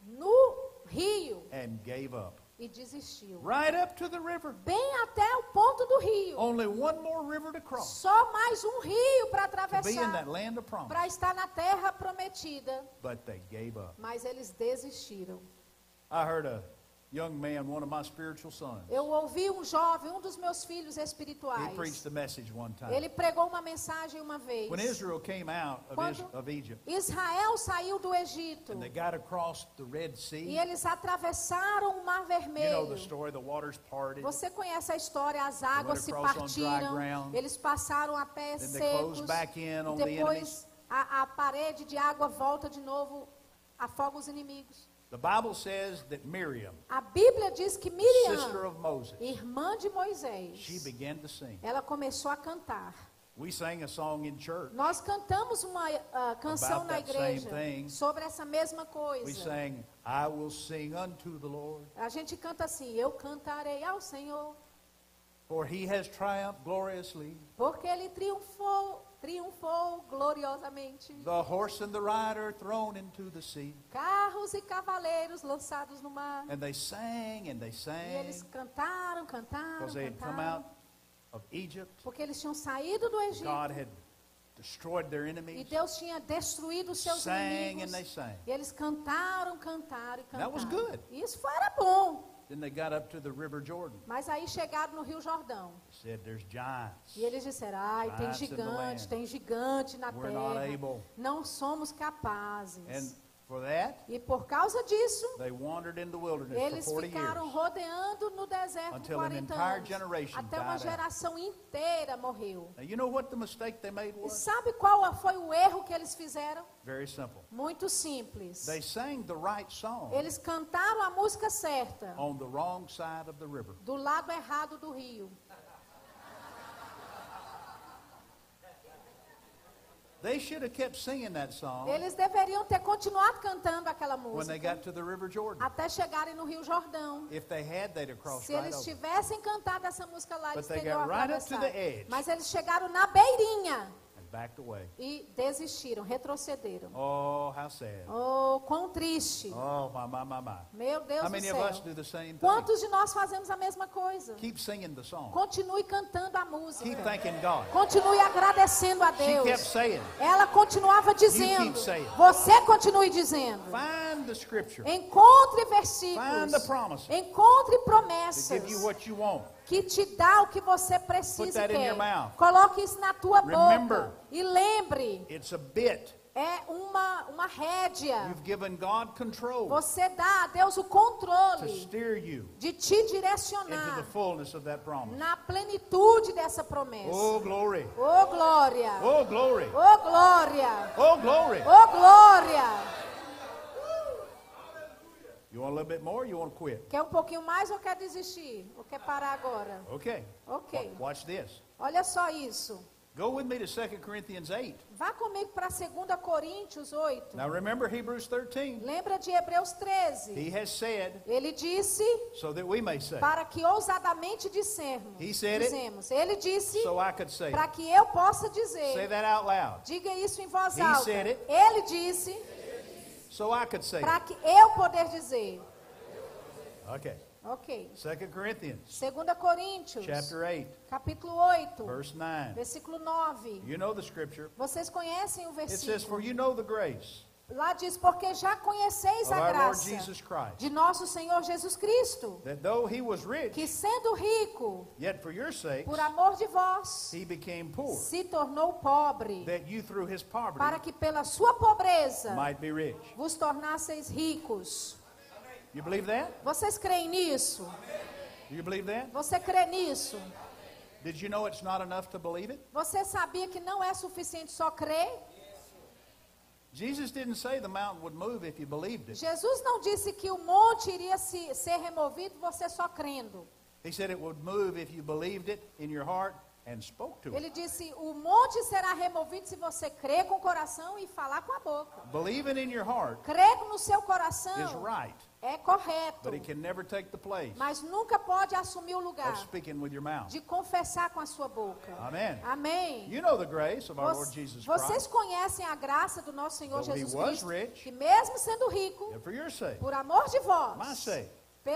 no rio and gave up. e desistiu. Right up to the river. Bem até o ponto do rio. Only one more river to cross Só mais um rio para to be in atravessar, that land of promise. para estar na terra prometida. But they gave up. Mas eles desistiram. I heard a young man, one of my spiritual sons. Eu ouvi um jovem, um dos meus filhos He espirituais. preached the message one time. Ele pregou uma mensagem uma vez. When Israel came out of Egypt, Israel saiu do Egito and they got across the Red e Sea, eles atravessaram o Mar you know the Vermelho. story, the waters parted, Você conhece a história, as águas se across on dry partiram, ground. eles passaram a pés Then they closed secos, back in on e the depois a parede de água volta de novo, afoga os inimigos. The Bible says that Miriam, A Bíblia diz que sister Miriam, of Moses, irmã de Moisés, she began to sing. ela começou a cantar. We sang a song in church. Nós cantamos uma canção About na that same igreja thing. sobre essa mesma We coisa. sang, I will sing unto the Lord, A gente canta assim, eu cantarei ao Senhor, for he has triumphed gloriously. porque Ele triunfou gloriosamente. The horse and the rider thrown into the sea. Carros e cavaleiros lançados no mar. And they sang and they E eles sang cantaram, because they had come cantaram. out of Egypt. Porque eles tinham saído do Egito. God had destroyed their E enemies. Deus tinha destruído os seus Sang inimigos. and they sang. E eles cantaram e cantaram. That was good. E isso era bom. Then they got up to the River Jordan. Mas aí chegaram no Rio Jordão. They said, there's giants. E eles disseram, ai, tem Giants in the gigante, land. tem gigante na We're not terra. able. Não somos capazes. And for that, E por causa disso, they wandered in the wilderness eles for 40 ficaram years. rodeando no deserto por Until an 40 entire anos. generation Até uma died out. geração inteira morreu. Now, you know what the mistake they made E was? sabe qual foi o erro que eles fizeram? Very simple. Muito simples. They sang the right song Eles cantaram a música certa on the wrong side of the river. do lado errado do rio. They should have kept singing that song Eles deveriam ter continuado cantando aquela when they música got to the River Jordan. até chegarem no Rio Jordão. If they had, they'd have crossed Se right eles over. tivessem cantado essa música lá, eles But they teriam got right up to atravessado. the edge. Mas eles chegaram na beirinha And backed away. e desistiram, retrocederam. Oh, how sad. Oh, quão triste. Oh, my. Meu Deus How do many of céu. us do the same thing? Quantos de nós fazemos a mesma coisa? Keep singing the song. Continue cantando a Keep música. thanking God. Continue agradecendo a She Deus. kept saying, Ela continuava dizendo. keep saying. Você continue dizendo. find the scripture Encontre Find versículos. the promises Encontre to promessas give you what you want. que te dá o que você Put precisa e that in quer. your mouth. Coloque isso na tua Remember. boca. E lembre, It's a bit. é uma rédea. You've given God control Você dá a Deus o to controle steer you de te into direcionar the fullness of that promise. na plenitude dessa promessa. Oh, glory. Oh, glória! Oh, glory. Oh, glória! Oh, glory. Oh, glória! You want a little bit more? You want to quit? Quer um pouquinho mais ou quer desistir? Ou quer parar agora? Okay. Ok. Watch this. Olha só isso. Go with me to 2 Corinthians 8. Vá comigo para 2 Coríntios 8. Now remember Hebrews 13. Lembra de Hebreus 13? He has said, Ele disse, so that we may say. para que ousadamente dissermos. He said it. Dizemos. Ele disse, So I could say. para que eu possa Say dizer. that out loud. Diga isso em voz He alta. said it. Ele disse, So I could say. para que eu poder dizer. Okay. Ok. 2 Corinthians 2 Coríntios, chapter 8, capítulo 8, verse 9. versículo 9. You know the scripture. Vocês conhecem o It says, versículo. for you know the grace Lá diz, porque já conheceis of a our Lord graça Jesus Christ, de nosso Senhor Jesus Cristo, that though he was rich, que sendo rico, yet for your sakes por amor de vós, he became poor, se tornou pobre, that you through his para poverty que pela sua pobreza might be rich. vos tornasseis ricos. You believe that? Vocês creem nisso? Do you believe that? Você crê nisso? Did you know it's not enough to believe it? Você sabia que não é suficiente só crer? Jesus didn't say the mountain would move if you believed it. Jesus não disse que o monte iria ser removido você só crendo. He said it would move if you believed it in your heart and spoke to it. Ele disse, o monte será removido se você crer com o coração e falar com a boca. Believing in your heart Crer no seu is coração right, é correto, but it can never take the place mas nunca pode assumir o lugar of speaking with your mouth. de confessar com a sua boca. Amen. Amém. You know the grace of our Lord Jesus Vocês Christ, conhecem a graça do nosso Senhor Though he Jesus was Cristo, rich, que mesmo sendo rico, and for your sake, por amor de my vós, sake,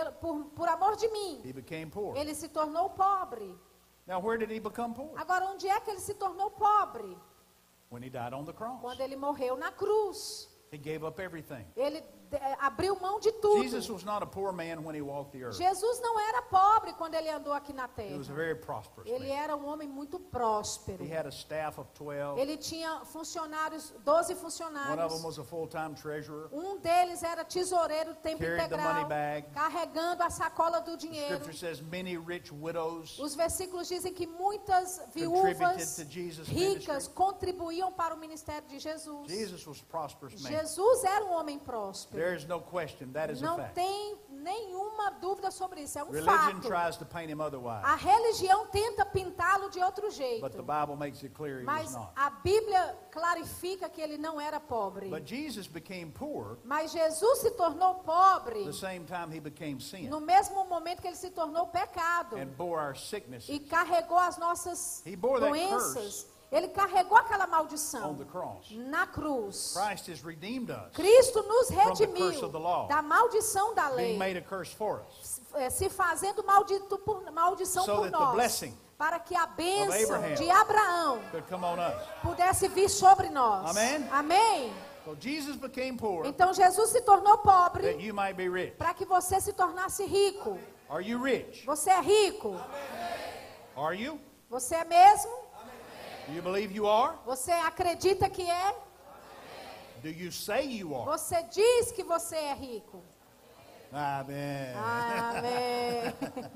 por amor de mim, he became poor. ele se tornou pobre. Now, where did he become poor? Agora, onde é que ele se tornou pobre? When he died on the cross. Quando ele morreu na cruz. He gave up everything. Ele abriu mão de tudo. Jesus was not a poor man when he walked the earth. Jesus não era pobre quando ele andou aqui na He was a terra. very prosperous Ele man. era um homem muito próspero. He had a staff of 12. Ele tinha funcionários, 12 One of them funcionários. was a full-time treasurer. Um deles era tesoureiro tempo Carried the integral, money bag. carregando a sacola do The dinheiro. scripture says many rich widows Os versículos dizem que muitas contributed viúvas to Jesus' ricas ministry. contribuíam para o ministério de Jesus. Jesus was a prosperous man. Jesus era um homem próspero. There is no question, that is a Não fact. tem nenhuma dúvida sobre isso, é um Religion fato. tries to paint him otherwise, A religião tenta pintá-lo de outro jeito, but the Bible makes it clear he was mas not. a Bíblia clarifica que ele não era pobre. But Jesus became poor Mas Jesus se tornou pobre the same time he became sin no mesmo momento que ele se tornou pecado and bore our sickness e carregou as nossas He bore that doenças. Ele carregou aquela on maldição the cross. na cruz. Christ has redeemed us, Cristo nos the curse redimiu of the law, da maldição da being lei, made a curse for us, se fazendo maldição so por that the nós, blessing para que a bênção Abraham de Abraão could come on us. pudesse vir sobre nós. Amém? Amém. So Jesus became poor Então Jesus se tornou that pobre you might be rich. para que você se tornasse rico. Are you rich? Você é rico? Are you? Você é mesmo? Do you believe you are? Você acredita que é? Do you say you are? Você diz que você é rico. Amen. Amém.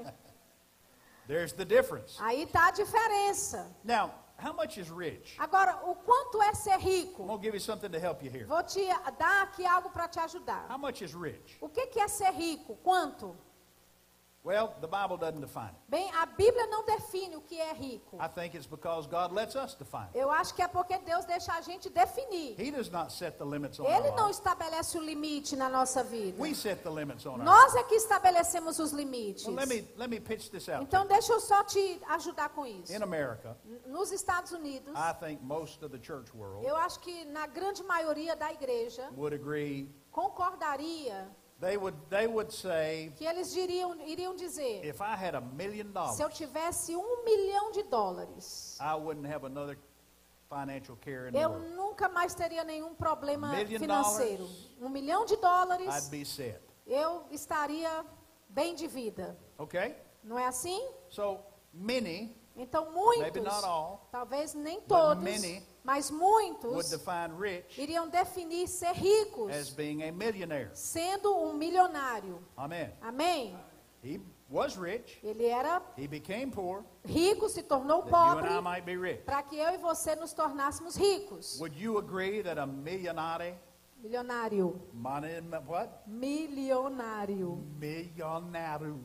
There's the difference. Aí está a diferença. Now, how much is rich? Agora, o quanto é ser I'm rico? going to give you something to help you here. Vou te dar aqui algo para te ajudar. How much is rich? O que é ser rico? Quanto? Well, the Bible doesn't define it. Bem, a Bíblia não define o que é rico. I think it's because God lets us define it. Eu acho que é porque Deus deixa a gente definir. He does not set the limits on Ele our não life. estabelece o limite na nossa vida. We set the limits on our life. Nós é que estabelecemos os limites. Well, let me pitch this out. Então, deixa eu só te ajudar com isso. In America, Nos Estados Unidos, I think most of the church world eu acho que na grande maioria da igreja would agree. concordaria They would say, que eles iriam dizer, if I had $1 million, se eu tivesse $1 milhão, I wouldn't have another financial care in the eu world. nunca mais teria nenhum problema $1 million, financeiro. $1 milhão, I'd be set. eu estaria bem de vida. Okay? Não é assim? So many Então Maybe muitos, not all, talvez nem but todos, many mas would muitos define rich iriam definir ser ricos as being a millionaire. sendo um milionário. Amen. Amém? He was rich. Ele era He became poor rico, se tornou that you and pobre I might be rich. para que eu e você nos tornássemos ricos. Would you agree that a millionare, Milionário. what? Milionário. Millionaire.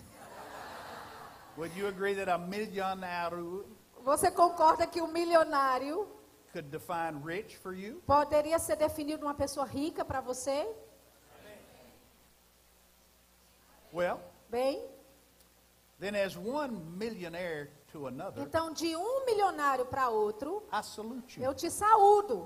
Would you agree that a millionaire Você concorda que o milionário could define rich for you? poderia ser definido uma pessoa rica para você? Well, Bem, then as one millionaire to another, então de um milionário para outro, I salute you. eu te saúdo.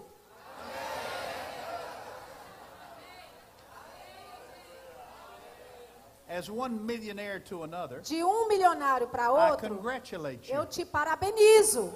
as one millionaire to another, de um milionário para I outro, congratulate eu you. te parabenizo.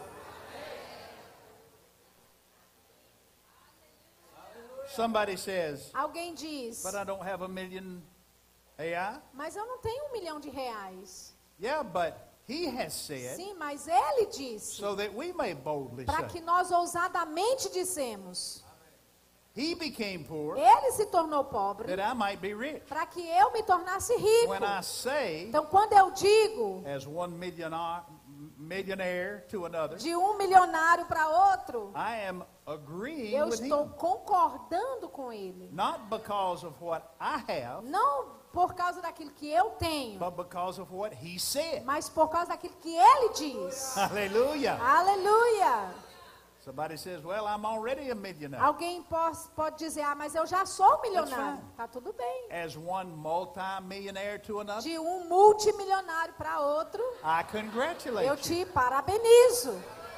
Somebody says, Alguém diz, but I don't have a million AI. mas eu não tenho R$1 milhão. Yeah, but he has said, Sim, mas ele disse, so that we may boldly para say, que nós ousadamente dissemos, he became poor ele se tornou pobre, that I might be rich. para que eu me tornasse rico. When I say, Então, quando eu digo as one millionaire to another, de um milionário para outro, I am agreeing eu with estou him. concordando com ele. Not because of what I have, Não por causa daquilo que eu tenho, but because of what he said. mas por causa daquilo que ele diz. Hallelujah. Aleluia! Somebody says, well, I'm already a millionaire. Alguém pode dizer, mas eu já sou um milionário. fine. Tá tudo bem. As one multi-millionaire to another, De um multimilionário para outro, I congratulate eu you. te parabenizo.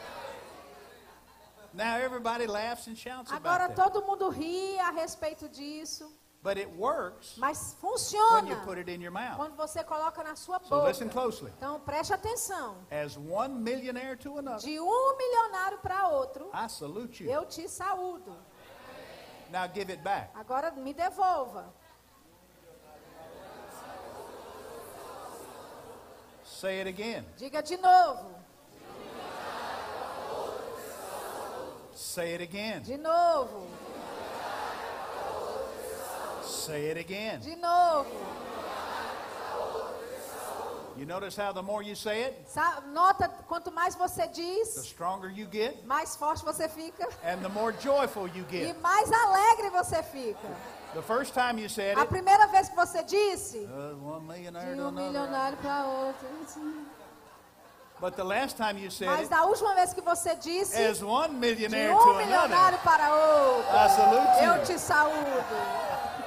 Now everybody laughs and shouts Agora about that. todo mundo ri a respeito disso, But it works mas when you funciona put it in your mouth. quando você coloca na sua So boca. listen closely. Então preste atenção. As one millionaire to another, De um milionário para outro, I salute you. eu te saúdo. Now give it back. Agora me devolva. Say it again. Diga de novo. Say it again. De novo. Say it again. De novo. You notice how the more you say it, Nota, quanto mais você the diz, stronger you get mais forte você fica and the more joyful you e get. mais alegre você fica. The first time you said A it, primeira vez que você disse, one millionaire de to um another. milionário para outro. But the last time you said Mas it, da última vez que você disse, as one de millionaire um to another, milionário para outro, I salute eu you. te saúdo.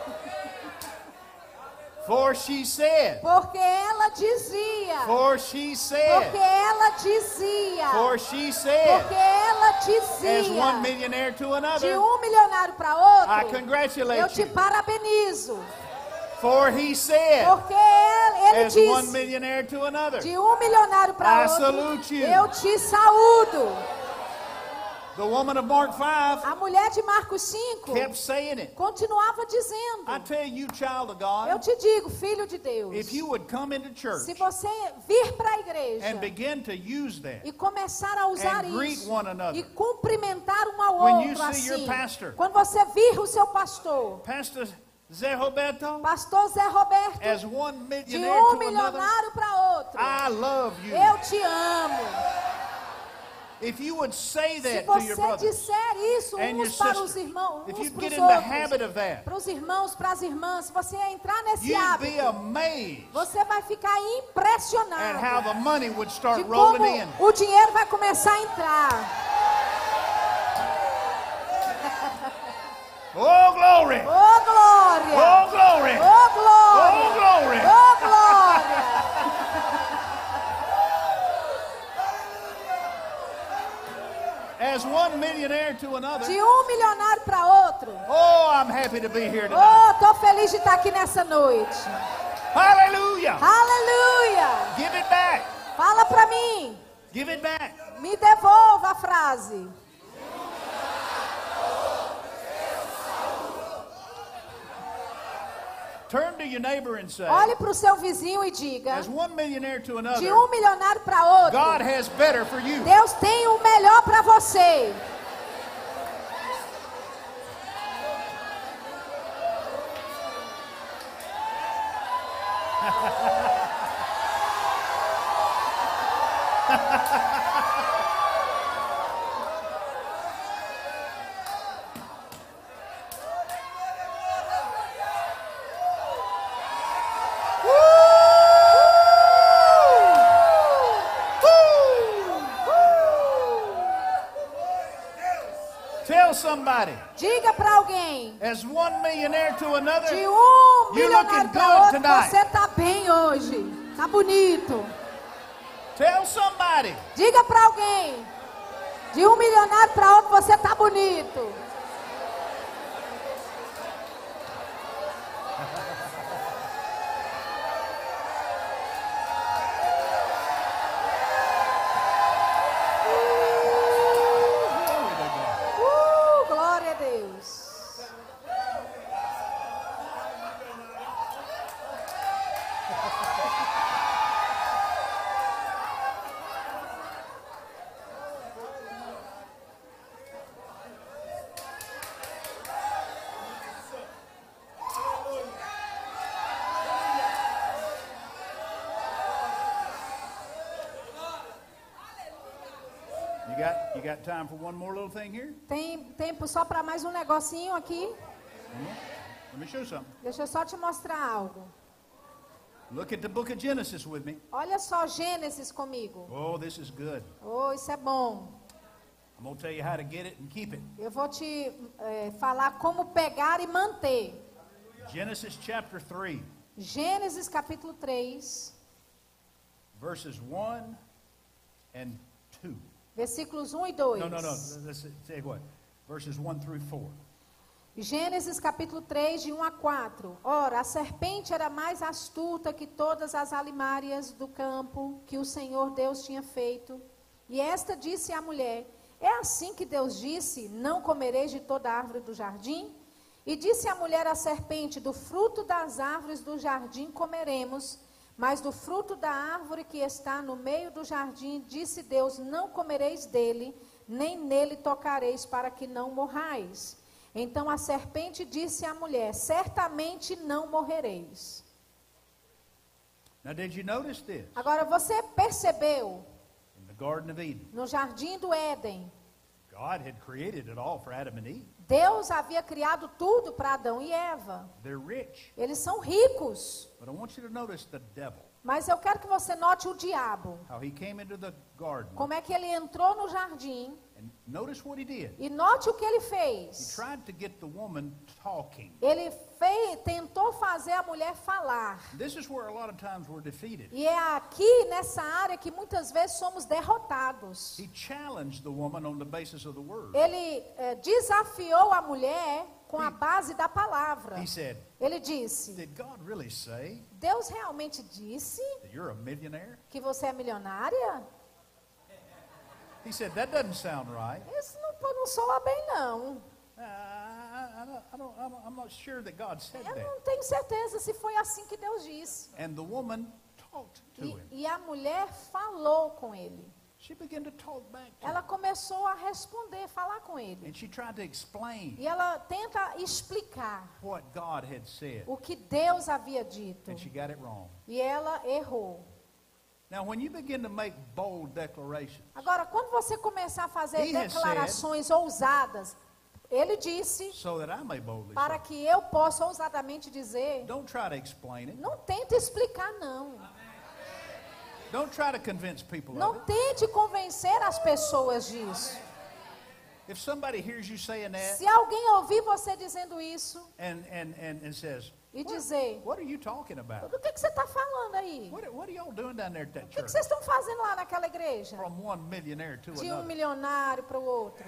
For she said, Porque ela dizia, for she porque said, ela dizia, for she said, porque ela as one dizia, millionaire to de another, um milionário para I outro, eu congratulate te you. parabenizo. For he said, Porque ele as one disse, millionaire to another, de um milionário I para outro, salute you. eu te saúdo. The woman of Mark 5 A mulher de Marcos 5 kept saying it. continuava dizendo, I tell you, child of eu God, te digo, filho de Deus, if you would come into church se você vir para a igreja and begin to use that, e começar a usar and greet isso one another. e cumprimentar um ao When you outro see your assim, pastor. quando você vir o seu pastor, Pastor Zé Roberto, pastor Zé Roberto, as one de millionaire um to another, milionário para outro, I love you. eu te amo. If you would say Se that to your você brother disser isso and your uns para os sister, irmãos, if uns you para get os in the outros, habit of that, para os irmãos, para as irmãs, se você entrar nesse you'd be hábito, amazed você vai ficar at how impressionado the money would de start como rolling in. o dinheiro vai começar a entrar. Oh, glory! Oh, glória! Oh, glory! Oh, glória! Oh, glory! Oh, glória! As one millionaire to another, De um milionário para outro. oh, I'm happy to be here tonight. Oh, tô feliz de estar aqui nessa noite. Hallelujah! Aleluia! Give it back! Fala para mim. Give it back! Me devolva a frase. Turn to your neighbor and say, Olhe para o seu vizinho e diga, as one millionaire to de another, um milionário para outro, God has better for you. Deus tem o melhor para você. Tell somebody, Diga para alguém, as one millionaire to another, de um You're milionário looking para good outro, tonight. você tá bem hoje. Tá bonito. tell somebody, Diga para alguém, de um milionário para outro, você tá bonito. You got time for one more little thing here? Tem tempo só para mais um negocinho aqui? Let me show you something. Deixa eu só te mostrar algo. Look at the book of Genesis with me. Olha só Gênesis comigo. Oh, this is good. Oh, isso é bom. I'm going to tell you how to get it and keep it. Eu vou te falar como pegar e manter. Genesis chapter 3, Gênesis capítulo 3, verses 1 and 2. versículos 1 e 2. No. Let's say what? Verses 1 through 4. Gênesis capítulo 3, de 1 a 4. Ora, a serpente era mais astuta que todas as alimárias do campo que o Senhor Deus tinha feito. E esta disse à mulher: é assim que Deus disse, não comereis de toda árvore do jardim? E disse a mulher à serpente: do fruto das árvores do jardim comeremos, mas do fruto da árvore que está no meio do jardim, disse Deus, não comereis dele, nem nele tocareis, para que não morrais. Então a serpente disse à mulher: certamente não morrereis. Now, did you notice this? Agora você percebeu, In the Garden of Eden, no jardim do Éden, God had created it all for Adam and Eve. Deus havia criado tudo para Adão e Eva. They're rich. Eles são ricos. But I want you to notice the devil, Mas eu quero que você note o diabo. how he came into the garden. Como é que ele entrou no jardim. And notice what he did. E note o que ele He fez. tried to get the woman talking. Ele tentou fazer a mulher falar. This is where a lot of times we're defeated. E é aqui nessa área que muitas vezes somos derrotados. He challenged the woman on the basis of the word. Ele desafiou a mulher com a base da palavra. He said, Ele disse: did God really say Deus realmente disse that you're a millionaire? que você é milionária? He said, that doesn't sound right. Isso não soa bem, não. I'm not sure that God said Eu that. não tenho certeza se foi assim que Deus disse. And the woman talked to him. E a mulher falou com ele. She began to talk back to Ela him. começou a responder, falar com ele. And she tried to explain E ela tenta explicar what God had said. o que Deus havia dito. And she got it wrong. E ela errou. Now, when you begin to make bold declarations, Agora, quando você começar a fazer He has declarações ousadas, ele disse, so that I may boldly para say, que eu possa ousadamente dizer, don't try to explain it. não tente explicar, não. Don't try to convince people of Não it. tente convencer as pessoas disso. If somebody hears you saying that Se alguém ouvir você dizendo isso and says, e dizer, what are you talking about? do que você está falando aí? What are y'all doing down there at that O que church? vocês estão fazendo lá naquela igreja? From one millionaire to De um another. milionário para o outro.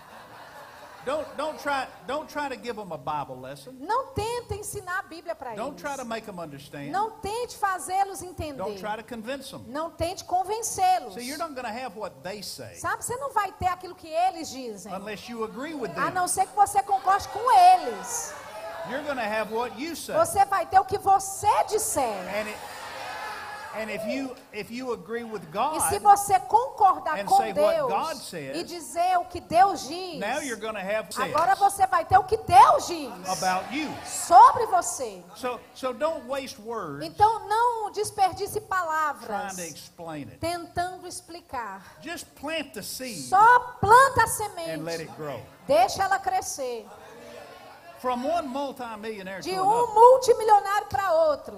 Don't try to give them a Bible lesson. Não tente ensinar a Bíblia para Don't try to eles. make them understand. Não tente fazê-los Don't entender. try to convince them. Não tente convencê-los. See, you're not going to have what they say Sabe, você não vai ter aquilo que eles dizem. unless you agree with A them. não ser que você concorde com eles. You're going to have what you say. Você vai ter o que você disser. And if you agree with E God, se você concordar and com say what Deus God says, e dizer o que Deus diz, now you're going to have agora says você vai ter o que Deus diz about you. sobre você. So don't waste words Então não desperdice trying palavras to explain it. tentando explicar. Just plant the seed Só planta a and let semente. it grow. Deixa ela crescer. From one multimillionaire De to another. um multimilionário para outro.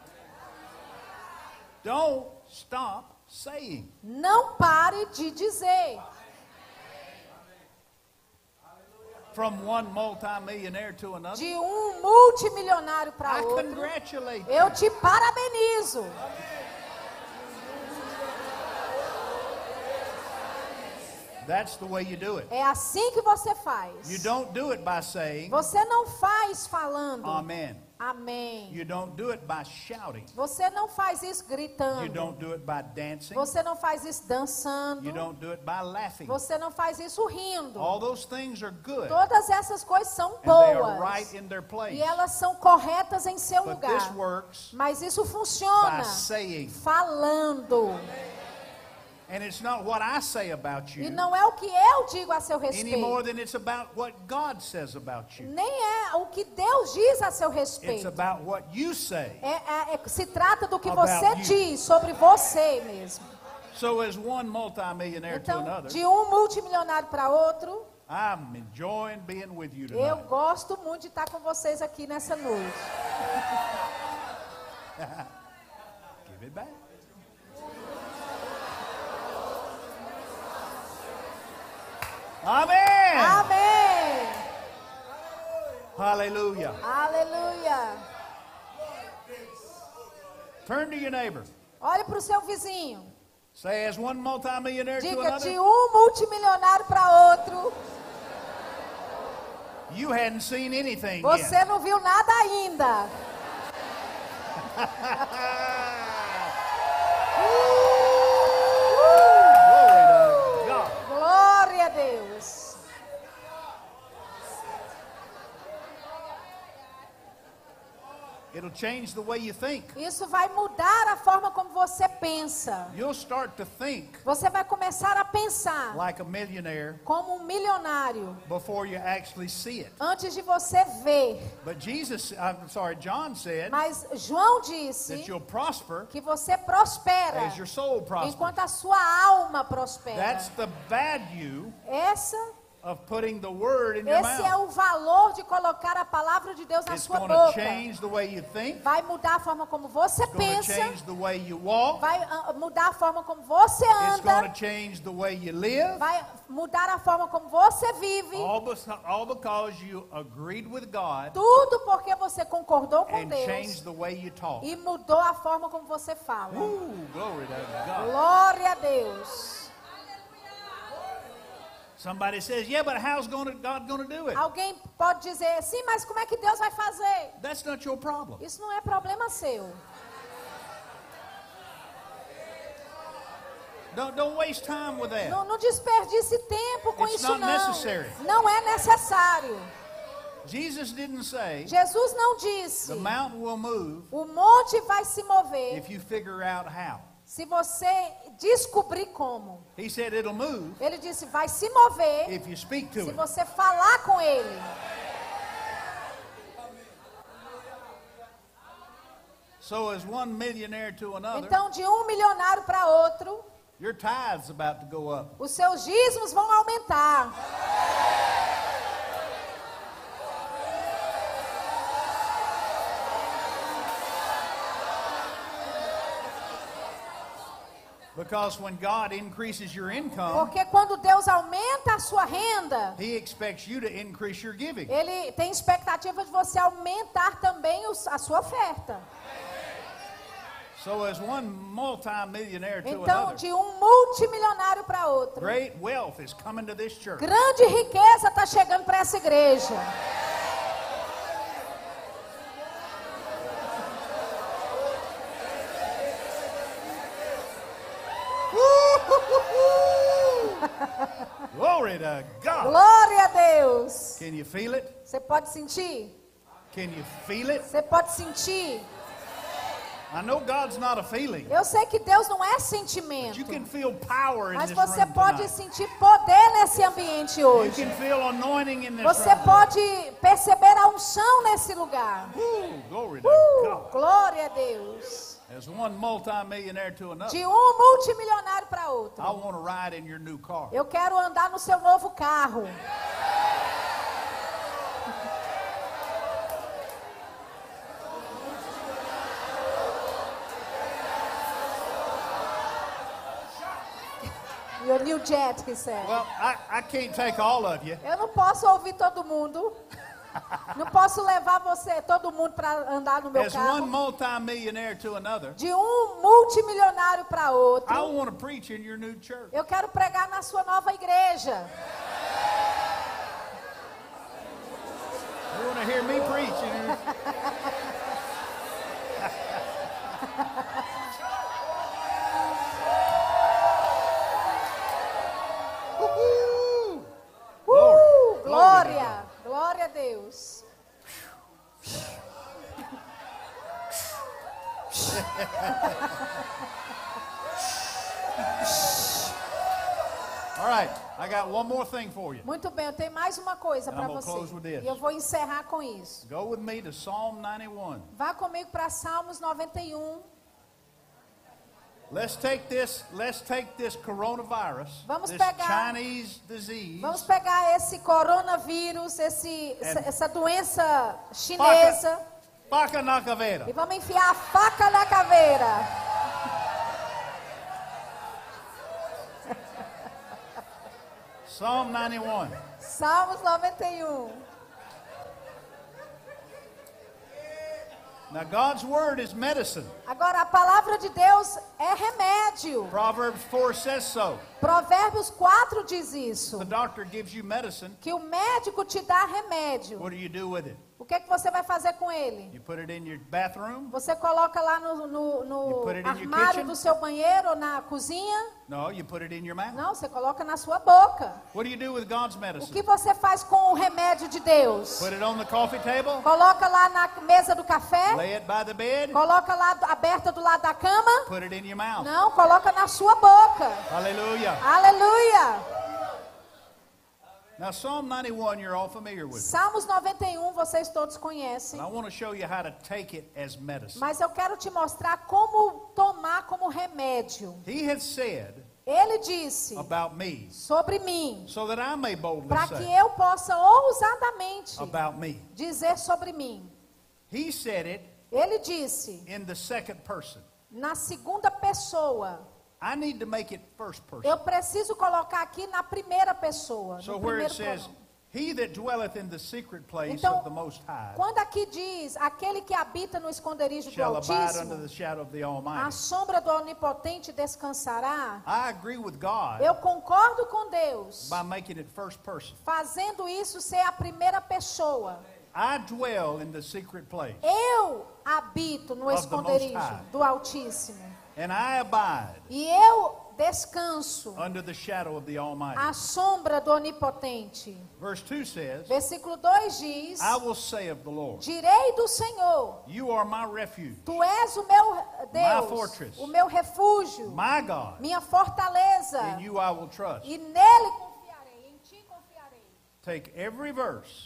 Don't stop saying. Não pare de dizer. From one multimillionaire to another. De um multimilionário para I outro. congratulate you. Eu te parabenizo. That's the way you do it. É assim que você faz. You don't do it by saying, Você não faz falando. Amen. Amém. You don't do it by shouting. Você não faz isso gritando. You don't do it by dancing. Você não faz isso dançando. You don't do it by laughing. Você não faz isso rindo. All those things are good. Todas essas coisas são And they are boas. right in their place. E elas são corretas em seu But this lugar. works Mas isso by funciona saying. falando. And it's not what I say about E you não é o que eu digo a seu any more respeito. than it's about what God says about you. Nem é o que Deus diz a seu It's respeito. about what you say. Se trata do que About você you. diz sobre você mesmo. So as one multimillionaire to Então, another, de um multimilionário para outro, I'm enjoying being with you eu tonight. gosto muito de estar com vocês aqui nessa noite. Give it back. Amen. Amém! Hallelujah. Aleluia! Turn to your neighbor. Olhe para o seu vizinho. Say, as one multimillionaire to Diga de another, um multimilionário para outro. you hadn't seen anything Você yet. não viu nada ainda. Glory to God. Glória a Deus. It'll change the way you think. Isso vai mudar a forma como você pensa. You'll start to think Você vai começar a pensar like a millionaire como um milionário before you actually see it. antes de você ver. But John said Mas João disse that you'll prosper que você prospera as your soul prospers. enquanto a sua alma prospera. That's the value Essa of putting the word in your Esse é mouth. o valor de colocar a palavra de Deus na It's sua going to boca. change the way you think. Vai mudar a forma como você It's going to pensa. change the way you walk. Vai mudar a forma como você It's going anda. to change the way you live. Vai mudar a forma como você vive. All because you agreed with God Tudo porque você concordou com and Deus changed the way you talk. e mudou a forma como você fala. Glory to God. Glória a Deus. Somebody says, yeah, but how's God going to do it? Alguém pode dizer, sim, mas como é que Deus vai fazer? That's not your problem. Isso não é problema seu. Don't waste time with that. Não desperdice tempo com It's isso not não. necessary. Não é necessário. Jesus didn't say Jesus não disse, the mountain will move o monte vai se mover if you figure out how. se você descobrir como. He said it'll move Ele disse, vai se mover if you speak to se it. você falar com ele. So as one millionaire to another, Então, de um milionário para outro, your tithe's about to go up. os seus dízimos vão aumentar. Because when God increases your income, Porque quando Deus aumenta a sua renda, He expects you to increase your giving. Ele tem expectativa de você aumentar também a sua oferta. So as one multi-millionaire to Então, another, de um multimilionário para outro, great wealth is coming to this church. grande riqueza está chegando para essa igreja. Glory to God. Glória a Deus. Can you feel it? Você pode sentir? Can you feel it? Você pode sentir? I know God's not a feeling. Eu sei que Deus não é But sentimento, you can feel power in mas this você room pode tonight. sentir poder nesse ambiente You hoje. can feel anointing in this Você room. pode perceber a unção nesse lugar. Glory to God. Glória a Deus. As one multi-millionaire to another, De um multimilionário para outro. I want to ride in your new car. Eu quero andar no seu novo carro. Your new jet, he said. Well, I can't take all of you. Eu não posso ouvir todo mundo. Não posso levar você, todo mundo, para andar no meu As one carro. multi-millionaire to another, De um multimilionário para outro. I want to preach in your new church. Eu quero pregar na sua nova igreja. You want to hear me preach in your... Woo-hoo! Glory. Glória! Glória a Deus. All right, I got one more thing for you. Muito bem, eu tenho mais uma coisa And para I'm gonna você. close with this. E eu vou encerrar com isso. Go with me to Psalm 91. Vá comigo para Salmos 91. Let's take this coronavirus, Vamos this pegar- Chinese disease, Vamos pegar esse coronavírus, essa doença chinesa, faca na caveira. e vamos enfiar a faca na caveira. Psalm 91. Salmos 91. Now God's word is medicine. Agora, a palavra de Deus é remédio. Proverbs 4 says so. Provérbios 4 diz isso. The doctor gives you medicine. Que o médico te dá remédio. What do you do with it? O que é que você vai fazer com ele? You put it in your bathroom? Você coloca lá You no put it in your armário kitchen? do seu banheiro ou na cozinha? No, you put it in your mouth. Não, você coloca na sua boca. What do you do with God's O medicine? que você faz com o remédio de Deus? Put it on the coffee table? Coloca lá na mesa do café? Lay it by the bed? Coloca lá aberta do lado da cama? Put it in your mouth. Não, coloca na sua boca. Hallelujah. Aleluia! Now Psalm 91 you're all familiar with. Salmos 91 vocês todos conhecem. And I want to show you how to take it as medicine. Mas eu quero te mostrar como tomar como remédio. He has said Ele disse about me, sobre mim, so that I may boldly para que say eu possa ousadamente about me. dizer sobre mim. He said it Ele disse in the second person. na segunda pessoa. I need to make it first person. Eu preciso colocar aqui na primeira pessoa. So No where it primeiro says, pronome. he that dwelleth in the secret place Então, of the Most High quando aqui diz aquele que habita no esconderijo do shall abide under Altíssimo, the shadow of the a Almighty. sombra do Onipotente descansará. I agree with God Eu concordo com Deus, by making it first person. fazendo isso ser a primeira pessoa. I dwell in the secret place, Eu habito no Of the Most esconderijo High. do Altíssimo. and I abide E eu descanso under the shadow of the Almighty. à sombra do Onipotente. Verse 2 says, Versículo 2 diz: I will say of the Lord, direi do Senhor, you are my refuge, tu és o meu Deus, fortress. o meu refúgio, my God, minha fortaleza. in you I will trust. E nele confiarei, em ti confiarei. Take every verse,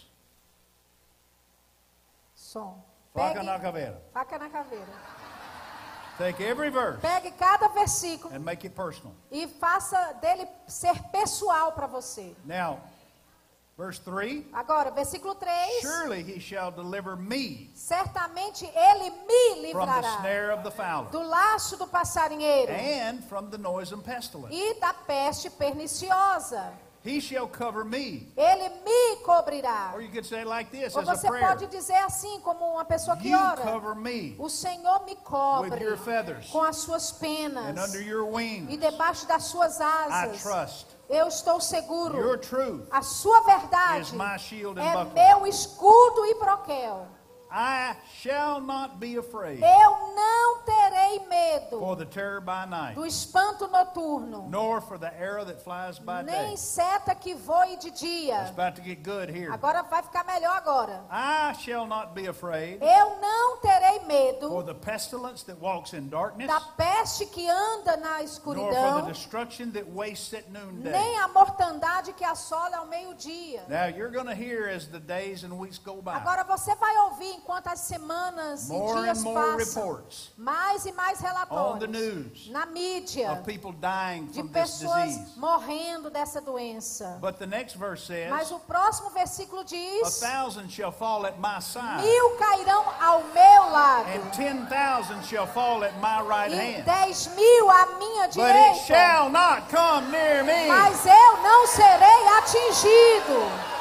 Som. faca Pegue, na caveira. faca na caveira. Take every verse Pegue cada versículo and make it personal. e faça dele ser pessoal para você. Now, verse 3, Agora, versículo 3. surely he shall deliver me Certamente ele me from the livrará snare of the fowler do laço do passarinheiro and from the noisome pestilence. e da peste perniciosa. He shall cover me. Ele me cobrirá. Or you could say it like this Ou as a você prayer. pode dizer assim, como uma pessoa que You ora: cover me o Senhor me with cobre your feathers, com as suas and penas under your e wings debaixo das suas I asas. trust. Eu estou seguro. Your truth A sua is verdade my shield and é buckler. meu escudo e broquel. I shall not be afraid Eu não terei medo for the terror by night, do espanto noturno, nor for the arrow that flies by day. nem seta que voe de It's dia. about to get good here. Agora vai ficar melhor agora. I shall not be afraid Eu não terei for medo the pestilence that walks in darkness, da peste que anda na nor for the escuridão, destruction that wastes at noonday. nem a mortandade que assola ao meio-dia. Now you're going to hear as the days and weeks go by, Agora você vai ouvir enquanto as semanas e more and dias more passam, reports mais e mais on the relatórios news na mídia of people dying de from this pessoas disease. morrendo dessa doença. But the next verse Mas says, o próximo versículo a diz: 1,000 shall fall at my side, 1000 cairão ao meu lado and 10,000 shall fall at my right e hand. 10.000 à minha But it direita, shall not come near me. mas eu não serei atingido.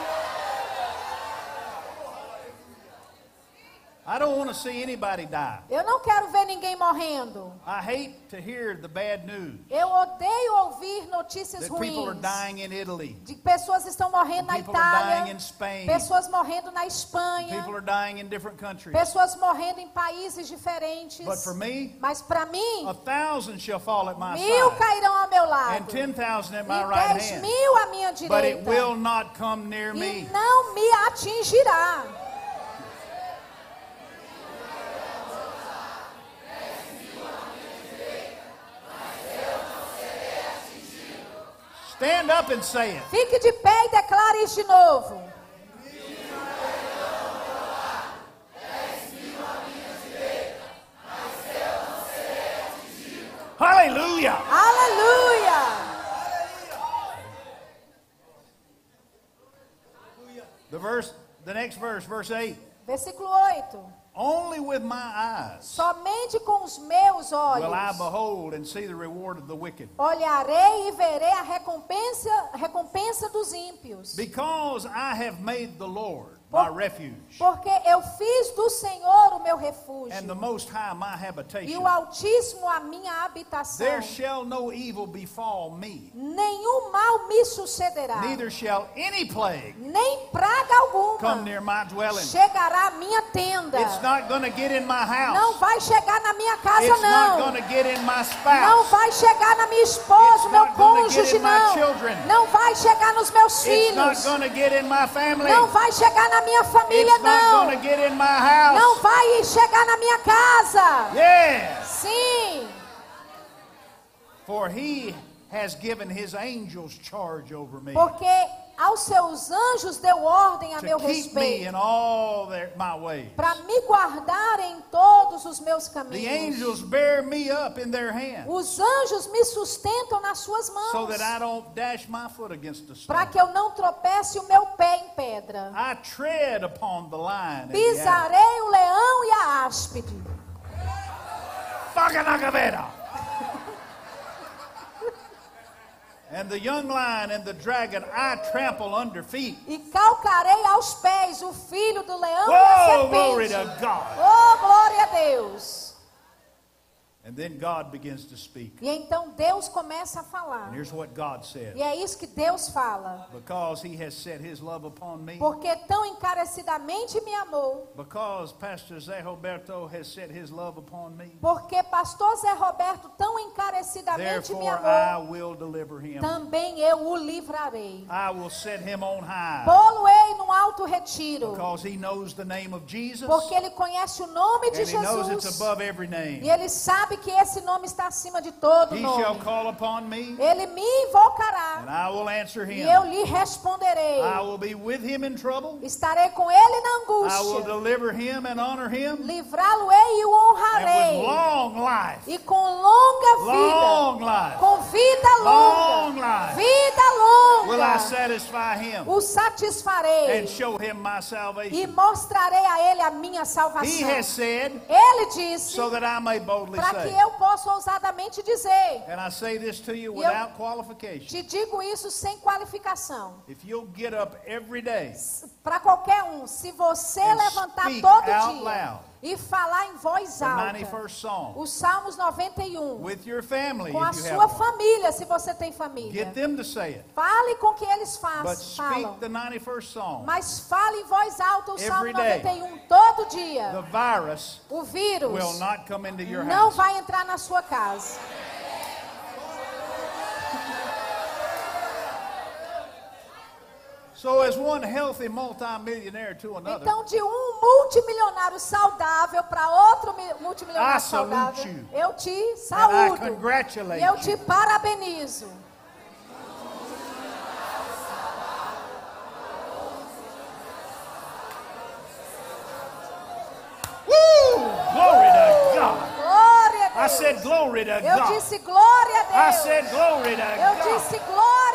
I don't want to see anybody die. Eu não quero ver ninguém morrendo. I hate to hear the bad news Eu odeio ouvir notícias that people are ruins dying in Italy, de que pessoas estão morrendo na people are dying Itália, in Spain, pessoas morrendo na Espanha, people are dying in different countries. pessoas morrendo em países diferentes. But for me, Mas para mim, 1,000 shall fall at my 1000 side, cairão ao meu and lado 10,000 at e my right hand, 10.000 à minha but it direita, will not come near e me. não me atingirá. Stand up and say it. Fique de pé e declare isso de novo. Hallelujah. Aleluia! The next verse, verse 8. Versículo 8. Only with my eyes Somente com os meus olhos will I behold and see the reward of the wicked. olharei e verei a recompensa dos ímpios. Because I have made the Lord my refuge, Porque eu fiz do Senhor o meu refúgio and the Most High my e habitation. o Altíssimo a minha habitação. There shall no evil befall me, Nenhum mal me sucederá, neither shall any plague nem praga come alguma near my dwelling. chegará à minha tenda. It's not going to get in my Não house. vai chegar na minha casa, It's not não. going to get in my Não spouse. vai chegar na minha esposa, It's meu not gonna get cônjuge, in my não. children. Não vai chegar nos meus It's not filhos. going to get in my family. Não vai chegar na minha família, It's not não. going to get in my house. Não vai chegar na minha casa. Yes. Sim, For he has given his angels charge over me porque aos seus anjos deu ordem a meu to keep me respeito, in all my ways. para me guardar em todos os meus The caminhos. angels bear me up in their hands Os anjos me sustentam nas suas mãos, so that I don't dash my foot against a para stone. que eu não tropece o meu pé em pedra. I tread upon the lion and the adder. Pisarei o leão e a áspide. Faganagavera. And the young lion and the dragon I trample under feet. E calcarei aos pés o filho do leão e Oh, a glory serpente. to God. Oh, glória a Deus. And then God begins to speak. E então Deus começa a falar. And here's what God said. E é isso que Deus fala. Because he has set his love upon me. Porque tão encarecidamente me amou. Because Pastor Zé Roberto has set his love upon me. Porque pastor Zé Roberto tão encarecidamente me Therefore I amou. will deliver him. Também eu o livrarei. I will set him on high. Pô-lo-ei num alto retiro. Because he knows the name of Jesus. Porque ele conhece o nome de And he knows it's Jesus. above every name. E ele sabe que esse nome está acima de todo He shall nome. call upon me. Ele me invocará. And I will answer E him. eu lhe responderei. I will be with him in trouble. Estarei com ele na I will angústia. deliver him and honor him. Livrá-lo-ei e o And honrarei. with long life. E com longa Long vida. life. Com vida Long longa. life. Vida Will I longa. satisfy him O satisfarei. and show him my E salvation. mostrarei a ele a minha He salvação. has said, Ele disse, so that I may boldly para que say. eu possa ousadamente dizer. And I say this to you E eu- without qualification. Te digo isso sem qualificação. If you'll get up every day Para qualquer um, se você And levantar speak todo out dia loud e falar em voz the alta, 91st Psalm os Salmos 91, with your family, com a if you sua have one, família, se você tem família, get them to say it. fale com que eles But falam, speak the 91st Psalm. mas fale em voz alta o Salmo Every day. 91 todo The dia. virus O vírus will not come into your não house. vai entrar na sua casa. So as one healthy multimillionaire to another, Então, de um multimilionário saudável para outro multimilionário I salute saudável, you. eu te and I saúdo congratulate e eu te you. parabenizo. Glory to God. Glória a I Deus. said glory to Eu God. disse glória a I Deus. said glory to Eu God. disse glória